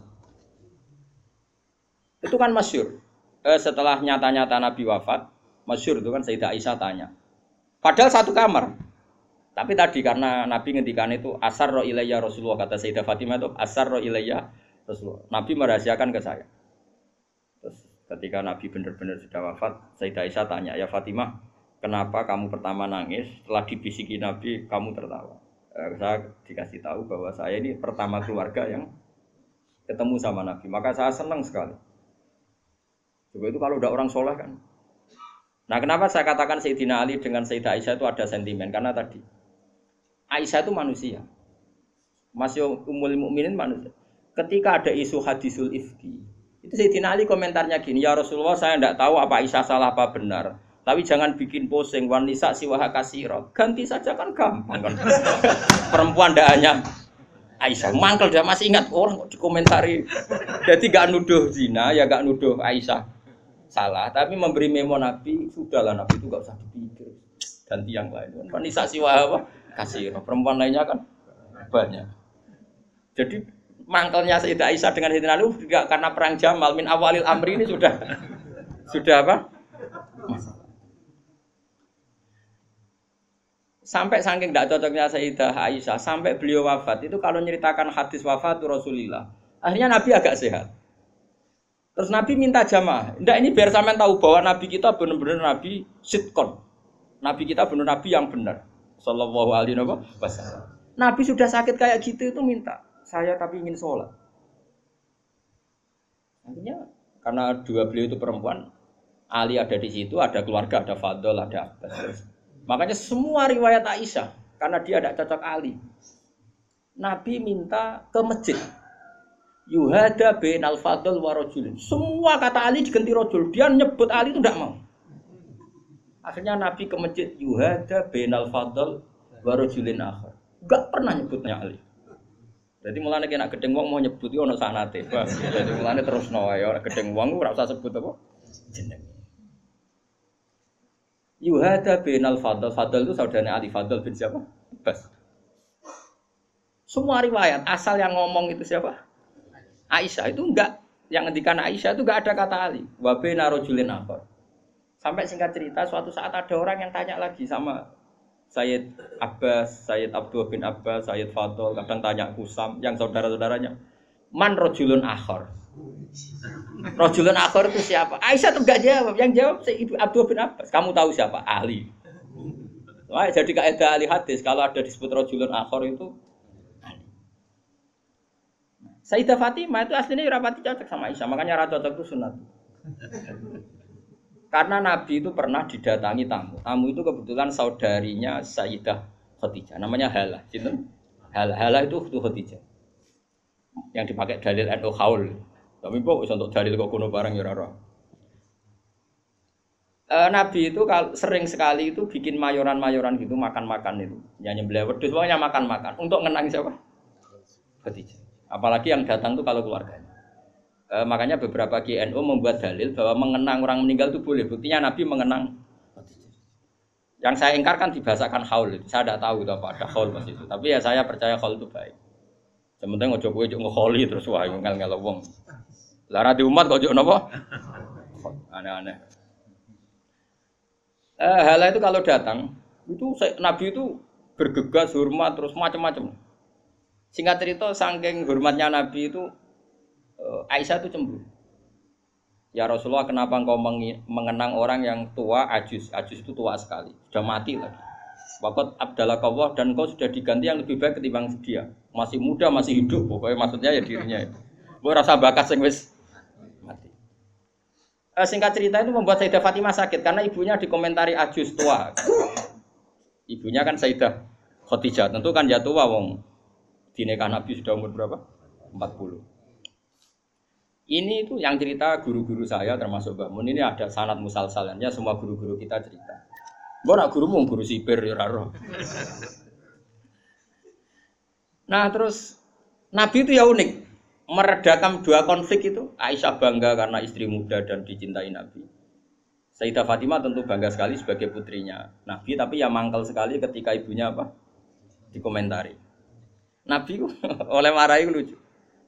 Itu kan masyhur. Eh, setelah nyata-nyata Nabi wafat, masyhur itu kan Sayyidah Aisyah tanya. Padahal satu kamar. Tapi tadi karena Nabi ngendikan itu asarra ilayya Rasulullah, kata Sayyidah Fatimah itu asarra ilayya Rasulullah. Nabi merahasiakan ke saya. Terus ketika Nabi benar-benar sudah wafat, Sayyidah Aisyah tanya, "Ya Fatimah, kenapa kamu pertama nangis? Setelah dibisiki Nabi, kamu tertawa?" Eh, saya dikasih tahu bahwa saya ini pertama keluarga yang ketemu sama Nabi. Maka saya senang sekali. Coba itu kalau udah orang soleh kan. Nah, kenapa saya katakan Sayyidina Ali dengan Sayyidah Aisyah itu ada sentimen? Karena tadi Aisyah itu manusia, masih umul mukminin manusia. Ketika ada isu hadisul ifki, itu Sayyidina Ali komentarnya gini, ya Rasulullah saya tidak tahu apa Aisyah salah apa benar, tapi jangan bikin pusing. Wanisa siwaha kasiro, ganti saja kan gampang kan. Perempuan tidak hanya Aisyah, mangkel dia masih ingat orang kok dikomentari. Jadi gak nuduh zina ya gak nuduh Aisyah salah, tapi memberi memo Nabi sudahlah Nabi itu gak usah dipikir, ganti yang lain. Wanisa siwaha apa? Kasih perempuan lainnya kan banyak. Jadi mangkelnya Sayyidah Aisyah dengan Sayyidina Ali juga karena perang Jamal min awalil amri ini sudah sudah apa? Sampai saking tidak cocoknya Sayyidah Aisyah sampai beliau wafat itu kalau nyeritakan hadis wafat Rasulullah, akhirnya Nabi agak sehat. Terus Nabi minta jamaah. Ndak ini biar sampean tahu bahwa Nabi kita benar-benar Nabi sitkon. Nabi kita benar Nabi yang benar. Sallallahu alaihi wasallam. Nabi sudah sakit kayak gitu itu minta, saya tapi ingin sholat. Akhirnya karena dua beliau itu perempuan, Ali ada di situ, ada keluarga, ada Fadl, ada Abbas. Makanya semua riwayat Aisyah karena dia tidak cocok Ali. Nabi minta ke masjid. Yuhada bainal Fadl wa rajulin. Semua kata Ali diganti rajul. Dia nyebut Ali itu tidak mau. Akhirnya Nabi ke masjid yuhada bainal fadl wa rajulin akhar. Enggak pernah nyebutnya Ali. Jadi mulane nek gedeng wong mau nyebut yo ono sanate. Jadi mulane terusno wae ora gedeng wong ora usah sebut apa jeneng. Yuhada bainal fadl. Fadl itu saudaranya Ali, Fadl bin siapa? Abbas. Semua riwayat asal yang ngomong itu siapa? Aisyah. Itu enggak, yang ngendikan Aisyah itu enggak ada kata Ali. Wa baina rajulin akhar. Sampai singkat cerita, suatu saat ada orang yang tanya lagi sama Sayyid Abbas, Sayyid Abdullah bin Abbas, Sayyid Fadl, kadang tanya Kusam, yang saudara-saudaranya. Man rojulun akhor. Rojulun akhor itu siapa? Aisyah tuh gak jawab, yang jawab Sayyid Abdullah bin Abbas. Kamu tahu siapa? Ahli. Wah, jadi kaidah ahli hadis, kalau ada disebut rojulun akhor itu ahli. Sayyidah Fatimah itu aslinya rapati cocok sama Aisyah, makanya ra cocok itu sunat. Karena Nabi itu pernah didatangi tamu. Tamu itu kebetulan saudarinya Sayyidah Khadijah. Namanya Halah. Halah, Halah itu Khadijah. Yang dipakai dalil N U Haul. Tapi kok untuk dalil kok kuno barang ya ora. E, Nabi itu kalau sering sekali itu bikin mayoran-mayoran gitu, makan-makan itu. Yang nyembelih wedhus pokoknya makan-makan untuk ngenang siapa? Khadijah. Apalagi yang datang itu kalau keluarganya. E, makanya beberapa K N U membuat dalil bahwa mengenang orang meninggal itu boleh. Buktinya Nabi mengenang. Yang saya ingkar kan dibahasakan haul itu. Saya tidak tahu itu apa ada haul pas itu. Tapi ya saya percaya haul itu baik. Sementing ojo kowe ojo ngekholi terus wae ngel-ngel wong. Lah ra di umat kok ojo napa? Aneh-aneh. Eh, hal itu kalau datang, itu Nabi itu bergegas, hormat, terus macam-macam. Singkat cerita, saking hormatnya Nabi itu, Aisyah itu cemburu. Ya Rasulullah, kenapa engkau mengenang orang yang tua, ajus? Ajus itu tua sekali, sudah mati lagi. Waqat abdalakawah dan engkau sudah diganti yang lebih baik ketimbang dia. Masih muda, masih hidup, pokoknya maksudnya ya dirinya itu. Gue rasa bakat sing wis mati. Eh, singkat cerita itu membuat Sayyidah Fatimah sakit karena ibunya dikomentari ajus tua. Ibunya kan Sayyidah Khadijah, tentu kan ya tua wong. Di nikah Nabi sudah umur berapa? empat puluh. Ini itu yang cerita guru-guru saya termasuk Mbak Mun ini ada sanad musalsalannya semua guru-guru kita cerita. Mbok nak gurumu guru sipir ya ora roh. Nah, terus Nabi itu ya unik. Meredakan dua konflik itu. Aisyah bangga karena istri muda dan dicintai Nabi. Sayyidah Fatimah tentu bangga sekali sebagai putrinya Nabi, tapi ya mangkel sekali ketika ibunya apa? Dikomentari. Nabi oleh marahi lucu.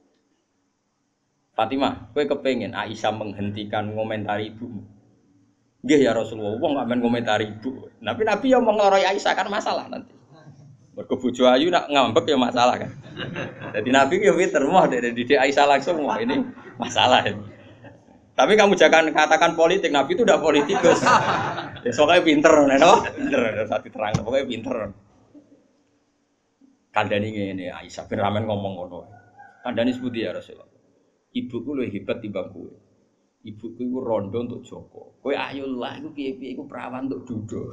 Fatimah, kowe kepengen Aisyah menghentikan ngomentari ibumu? Nggih ya Rasulullah, wong gak men ngomentari ibu. Tapi Nabi ya mau ngloroi Aisyah kan masalah nanti. Mergo bojo ayu nak ngambek ya masalah kan. Jadi Nabi ya pinter moh dari didik Aisyah langsung wah ini masalah ini. Tapi kamu jangan katakan politik, Nabi itu udah politikus. Ya soalnya pinter no? Pinter saat diterang pokoknya pinter. Kandani ngene Aisyah ben ramen ngomong ngono. Kandani sepundi ya Rasulullah. Ibuku luwih hebat timbang kowe. Ibuku iku rondo untuk Joko. Kowe ayo lah iku piye-piye iku perawan untuk Dudo.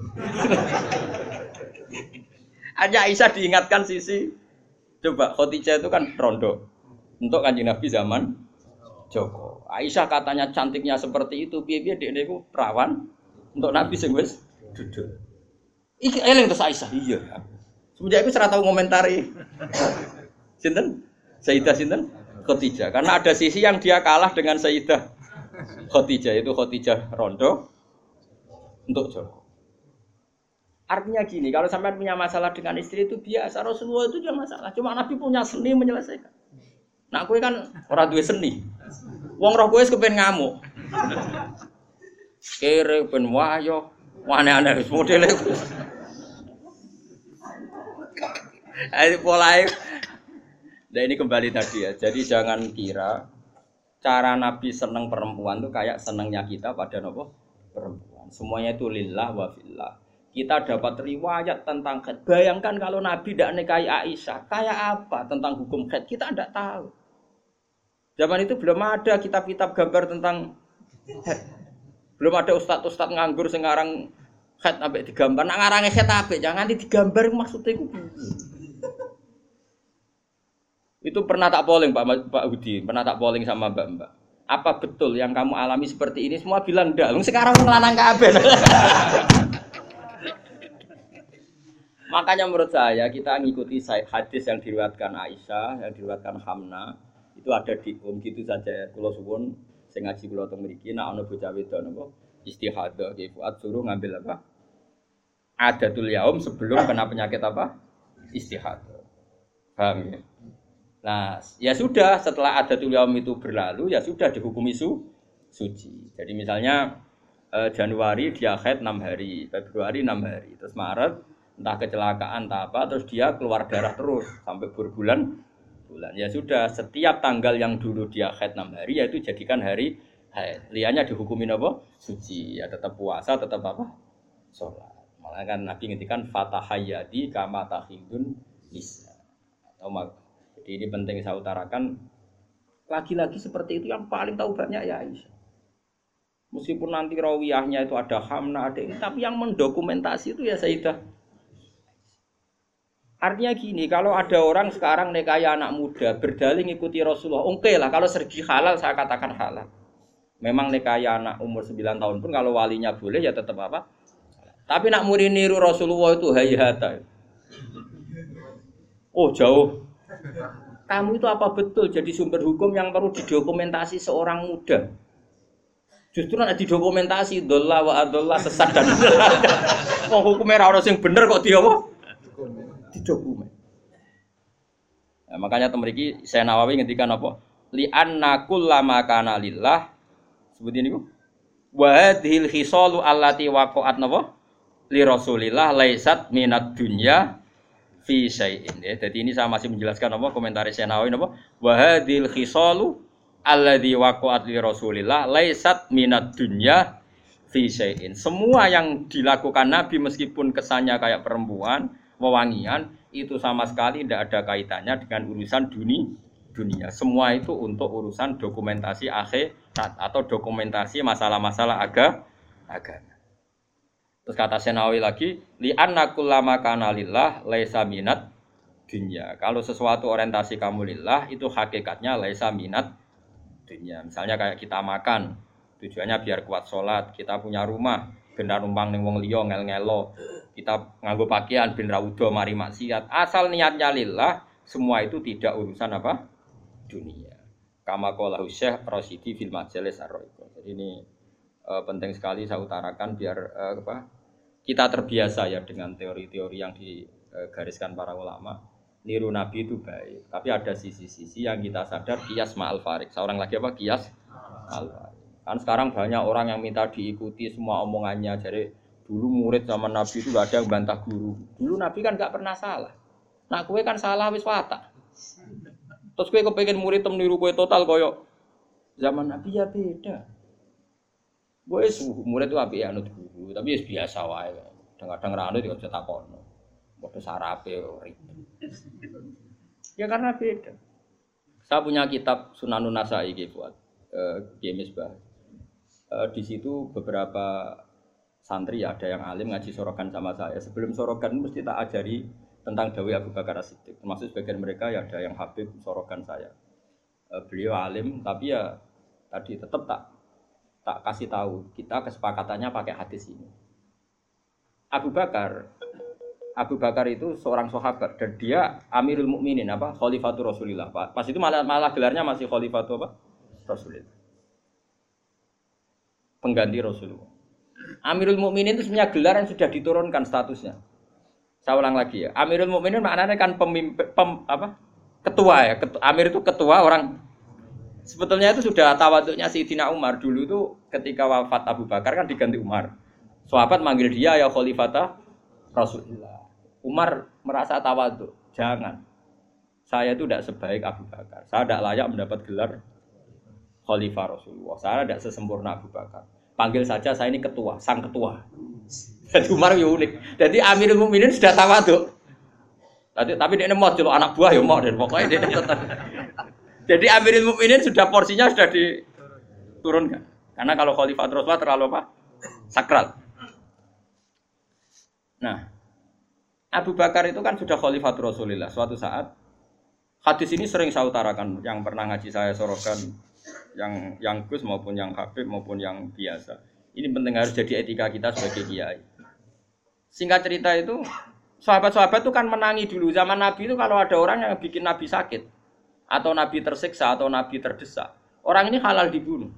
Aja Aisyah diingatkan sisi coba Khadijah itu kan rondo untuk Kanjeng Nabi zaman Joko. Aisyah katanya cantiknya seperti itu, piye-piye dekne iku perawan untuk Nabi sing wis Dudo. Iki eling terus Aisyah. Iya. Semenjak itu ora tau ngomentari. Sinten? Sayyidah sinten? Khadijah. Karena ada sisi yang dia kalah dengan Sayyidah Khadijah itu Khadijah rondo untuk Joko. Artinya gini, kalau sampai punya masalah dengan istri itu biasa, Rasulullah itu juga masalah. Cuma Nabi punya seni menyelesaikan. Nah, kowe kan ora duwe seni. Wong roh kowe wis kepen ngamuk. Kere ben wayo, aneh-aneh wis modele. Ayo polahe. Nah, ini kembali tadi ya. Jadi jangan kira cara Nabi seneng perempuan itu kayak senengnya kita pada nopo perempuan. Semuanya itu lillah wa fillah. Kita dapat riwayat tentang haid. Bayangkan kalau Nabi tidak nikahi Aisyah, kayak apa tentang hukum haid? Kita tidak tahu. Zaman itu belum ada kitab-kitab gambar tentang haid. Belum ada ustadz-ustadz nganggur sekarang haid sampai digambar. Nak ngarange haid apik, jangan digambar maksudnya itu. Itu pernah tak polling Pak Pak Hudi, pernah tak polling sama Mbak-mbak. Apa betul yang kamu alami seperti ini? Semua bilang enggak. Sekarang ngelanang kabeh. Makanya menurut saya kita ngikuti hadis yang diriwayatkan Aisyah, yang diriwayatkan Hamna, itu ada di um gitu saja. Kula suwun sing ngaji kula teng mriki nek ana bocah wedok napa istihadah nggih Fuad suruh ngambil apa? Adatul yaum sebelum kena penyakit apa? Istihadah. Paham ya? Nah, ya sudah setelah adatul yaum itu berlalu ya sudah dihukumi su suci. Jadi misalnya eh, Januari dia haid enam hari, Februari enam hari, terus Maret entah kecelakaan entah apa terus dia keluar darah terus sampai berbulan bulan. Ya sudah setiap tanggal yang dulu dia haid enam hari yaitu jadikan hari haid. Liannya dihukumin apa? Suci. Ya tetap puasa, tetap apa? Salat. Malah kan Nabi ngendikan fatahayyadi kama tahidun nisa. Atau jadi ini penting saya utarakan, lagi-lagi seperti itu yang paling tahu banyak ya Aisyah. Meskipun nanti rawiyahnya itu ada Hamna, ada ini, tapi yang mendokumentasi itu ya Sayyidah. Artinya gini, kalau ada orang sekarang nikahi anak muda, berdalih ngikuti Rasulullah, oke lah, kalau segi halal saya katakan halal. Memang nikahi anak umur sembilan tahun pun kalau walinya boleh ya tetap apa. Tapi nak muri niru Rasulullah itu hayata. Oh jauh. Kamu itu apa betul jadi sumber hukum yang perlu didokumentasi seorang muda? Justru nak didokumentasi dolla wa adolla sesat dan wong hukumnya ora ono sing bener kok dia apa? Didokumen. Nah, makanya temeriki saya Nawawi ngendikan apa? Li anna kullama kana lillah seperti ini ku. Wa hadhil khisalu allati waqa'at napa? Li Rasulillah laisat minad dunya fi syai'in. Ya, jadi ini saya masih menjelaskan apa komentar saya Nawawi napa? Wa hadhil khisalu alladzi waqa'at li Rasulillah laisat minad dunya fi syai'in. Semua yang dilakukan Nabi meskipun kesannya kayak perempuan, wewangian, itu sama sekali tidak ada kaitannya dengan urusan dunia. dunia. Semua itu untuk urusan dokumentasi akhirat atau dokumentasi masalah-masalah aga, agama. Terus kata Senawi lagi, li anna kullama kana lillah laisa minat dunya. Kalau sesuatu orientasi kamu lillah itu hakikatnya laisa minat dunya. Misalnya kayak kita makan, tujuannya biar kuat sholat, kita punya rumah, benar numpang ning wong liya ngel-ngelo. Kita nganggo pakaian ben ra udo mari maksiat. Asal niatnya lillah, semua itu tidak urusan apa? Dunia. Kama qala Syekh Rasyidi fil Majalis Ar-Ra'iqah. Jadi ini uh, penting sekali saya utarakan biar uh, apa? Kita terbiasa ya dengan teori-teori yang digariskan para ulama. Niru Nabi itu baik, tapi ada sisi-sisi yang kita sadar qiyas ma'al farik. Seorang lagi apa? Qiyas ma'al farik. Kan sekarang banyak orang yang minta diikuti semua omongannya. Jadi dulu murid zaman Nabi itu gak ada yang bantah guru. Dulu Nabi kan gak pernah salah. Nah kue kan salah wis watak. Terus kue kepengen murid tem niru kue total koyo zaman Nabi ya beda. Kue suhu murid itu api anut guru, tapi ya biasa wae. Kadang-kadang ra anut yo cetak kono. Padha sarape ribet. Ya karena beda. Saya punya kitab Sunanun Nasa'i iki buat eh Misbah. Eh, di situ beberapa santri ada yang alim ngaji sorogan sama saya. Sebelum sorogan mesti tak ajari tentang dawai Abu Bakar As-Siddiq. Termasuk sebagian mereka ya ada yang habib sorogan saya. E, beliau alim tapi ya tadi tetap tak tak kasih tahu. Kita kesepakatannya pakai hadis ini. Abu Bakar Abu Bakar itu seorang sahabat dan dia Amirul Mukminin apa? Khalifatur Rasulillah. Pas itu malah malah gelarnya masih Khalifatur apa? Rasulillah. Pengganti Rasulullah. Amirul Mukminin itu sebenarnya gelar yang sudah diturunkan statusnya. Saya ulang lagi ya. Amirul Mukminin maknanya kan pemimpin pem, apa? Ketua ya. Ketua, Amir itu ketua orang. Sebetulnya itu sudah tawaduknya Sayyidina Umar dulu itu ketika wafat Abu Bakar kan diganti Umar. Sahabat manggil dia ya Khalifata Rasulullah. Umar merasa tawaduk. Jangan. Saya itu tidak sebaik Abu Bakar. Saya tidak layak mendapat gelar Khalifah Rasulullah. Saya tidak sesempurna Abu Bakar. Panggil saja saya ini ketua, sang ketua. Jadi Umar ya unik. Jadi Amirul Mukminin sudah tawaduk. Tapi tapi dia mau celok anak buah ya mau dan pokoknya dia tetap. Jadi Amirul Mukminin sudah porsinya sudah diturunkan. Karena kalau Khalifah Rasulullah terlalu apa? Sakral. Nah, Abu Bakar itu kan sudah Khalifah Rasulullah. Suatu saat hadis ini sering saya utarakan yang pernah ngaji saya sorokan. Yang yang Gus maupun yang Habib maupun yang biasa. Ini penting harus jadi etika kita sebagai kiai. Singkat cerita itu, sahabat-sahabat itu kan menangi dulu zaman Nabi itu kalau ada orang yang bikin Nabi sakit atau Nabi tersiksa atau Nabi terdesak, orang ini halal dibunuh.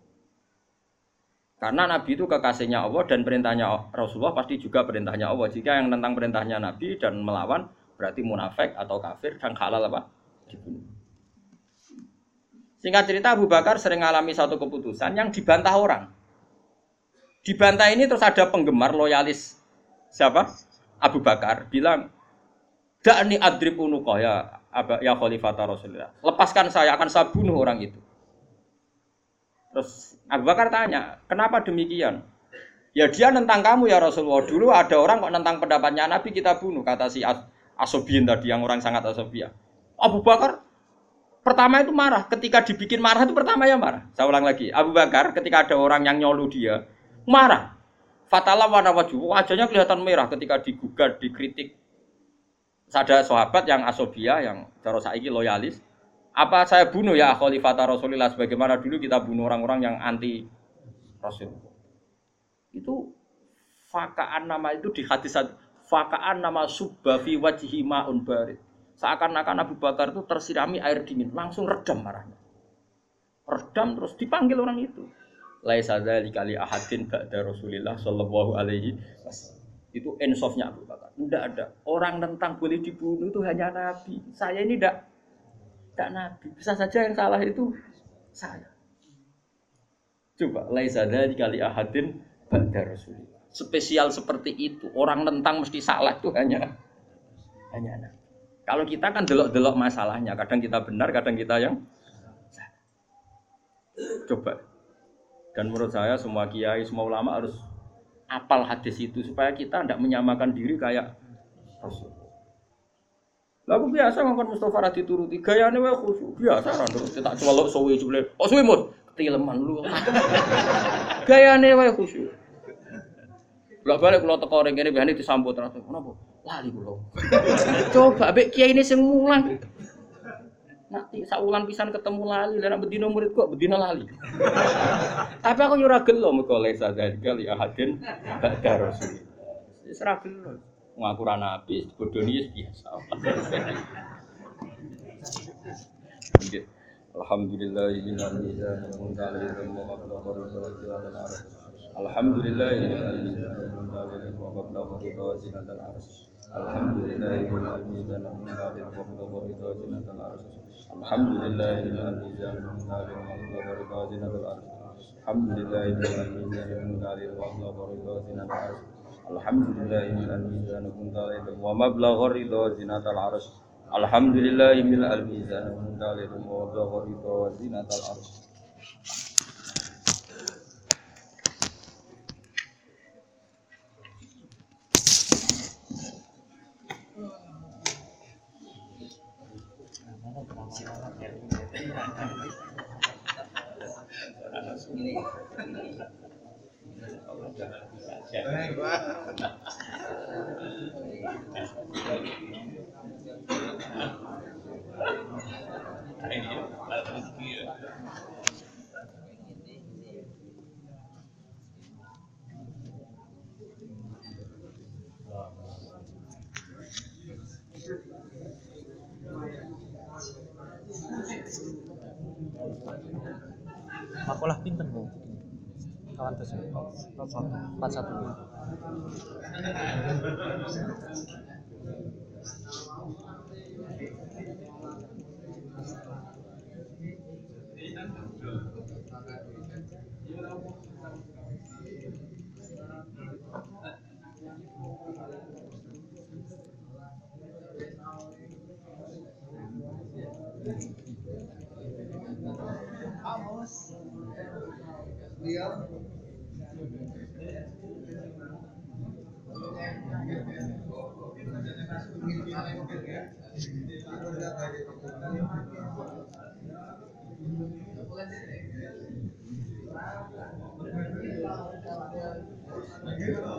Karena Nabi itu kekasihnya Allah dan perintahnya Rasulullah pasti juga perintahnya Allah. Jika yang tentang perintahnya Nabi dan melawan berarti munafik atau kafir dan halal apa? Dibunuh. Singkat cerita Abu Bakar sering mengalami satu keputusan yang dibantah orang. Dibantah ini terus ada penggemar loyalis siapa? Abu Bakar bilang, "Da'ni adrib unuqah ya ya Khalifata Rasulullah. Lepaskan saya akan saya bunuh orang itu." Terus Abu Bakar tanya, "Kenapa demikian?" "Ya dia nentang kamu ya Rasulullah. Dulu ada orang kok nentang pendapatnya Nabi kita bunuh," kata si Asobiyin tadi yang orang sangat asobiyah. Abu Bakar pertama itu marah, ketika dibikin marah itu pertama ya marah. Saya ulang lagi, Abu Bakar ketika ada orang yang nyolu dia, marah. Fatalah warna wajah, wajahnya kelihatan merah ketika digugat, dikritik. Ada sahabat yang asobia, yang cara saiki loyalis. Apa saya bunuh ya Khalifata Rasulullah sebagaimana dulu kita bunuh orang-orang yang anti Rasul. Itu fakaan nama itu di hadis fakaan nama subba fi wajhi ma'un barid. Seakan-akan Abu Bakar itu tersirami air dingin, langsung redam marahnya. Redam terus dipanggil orang itu. Laisa dzalika li ahadin ba'da Rasulillah sallallahu alaihi wasallam. Itu insafnya Abu Bakar. Tidak ada orang tentang boleh dibunuh itu hanya Nabi. Saya ini tidak tidak nabi. Bisa saja yang salah itu saya. Coba laisa dzalika li ahadin ba'da rasulillah. Spesial seperti itu. Orang nentang mesti salah itu hanya hanya nabi. Kalau kita kan delok-delok masalahnya, kadang kita benar, kadang kita yang salah. Coba. Dan menurut saya semua kiai, semua ulama harus apal hadis itu supaya kita tidak menyamakan diri kayak Rasul. Lagu biasa ngomong Mustafa Radhi turuti gayane wae khusyuk. Biasa kan terus tak celok suwe jule. Oh suwe Mus, ketileman lu. Gayane wae khusyuk. Lah balik kula teko ring kene biasane disambut terus. Kenapa? Lali kula. Coba mbek kiai ini sing mulang. Nanti saulan pisan ketemu lali, lan bedino murid kok bedino lali. Tapi aku yo ora gelo mergo lesa dzalika li ahadin ba'da rasul. Wis ora gelo. Ngaku ra nabi, bodoni biasa. Alhamdulillahil mizan munzalil wa maqdar wa Alhamdulillahil mizan wa maqdar wa zinatal arsh. Alhamdulillahil mizan munzalil wa maqdar wa zinatal arsh. Alhamdulillahil mizan munzalil wa maqdar wa zinatal arsh. Alhamdulillahil mizan munzalil wa maqdar wa zinatal arsh. Alhamdulillahil mizan munzalil wa maqdar wa zinatal arsh. Alhamdulillahil mizan munzalil wa maqdar wa zinatal arsh. Makulah pinten Bu? Kawan terus empat satu. Iya.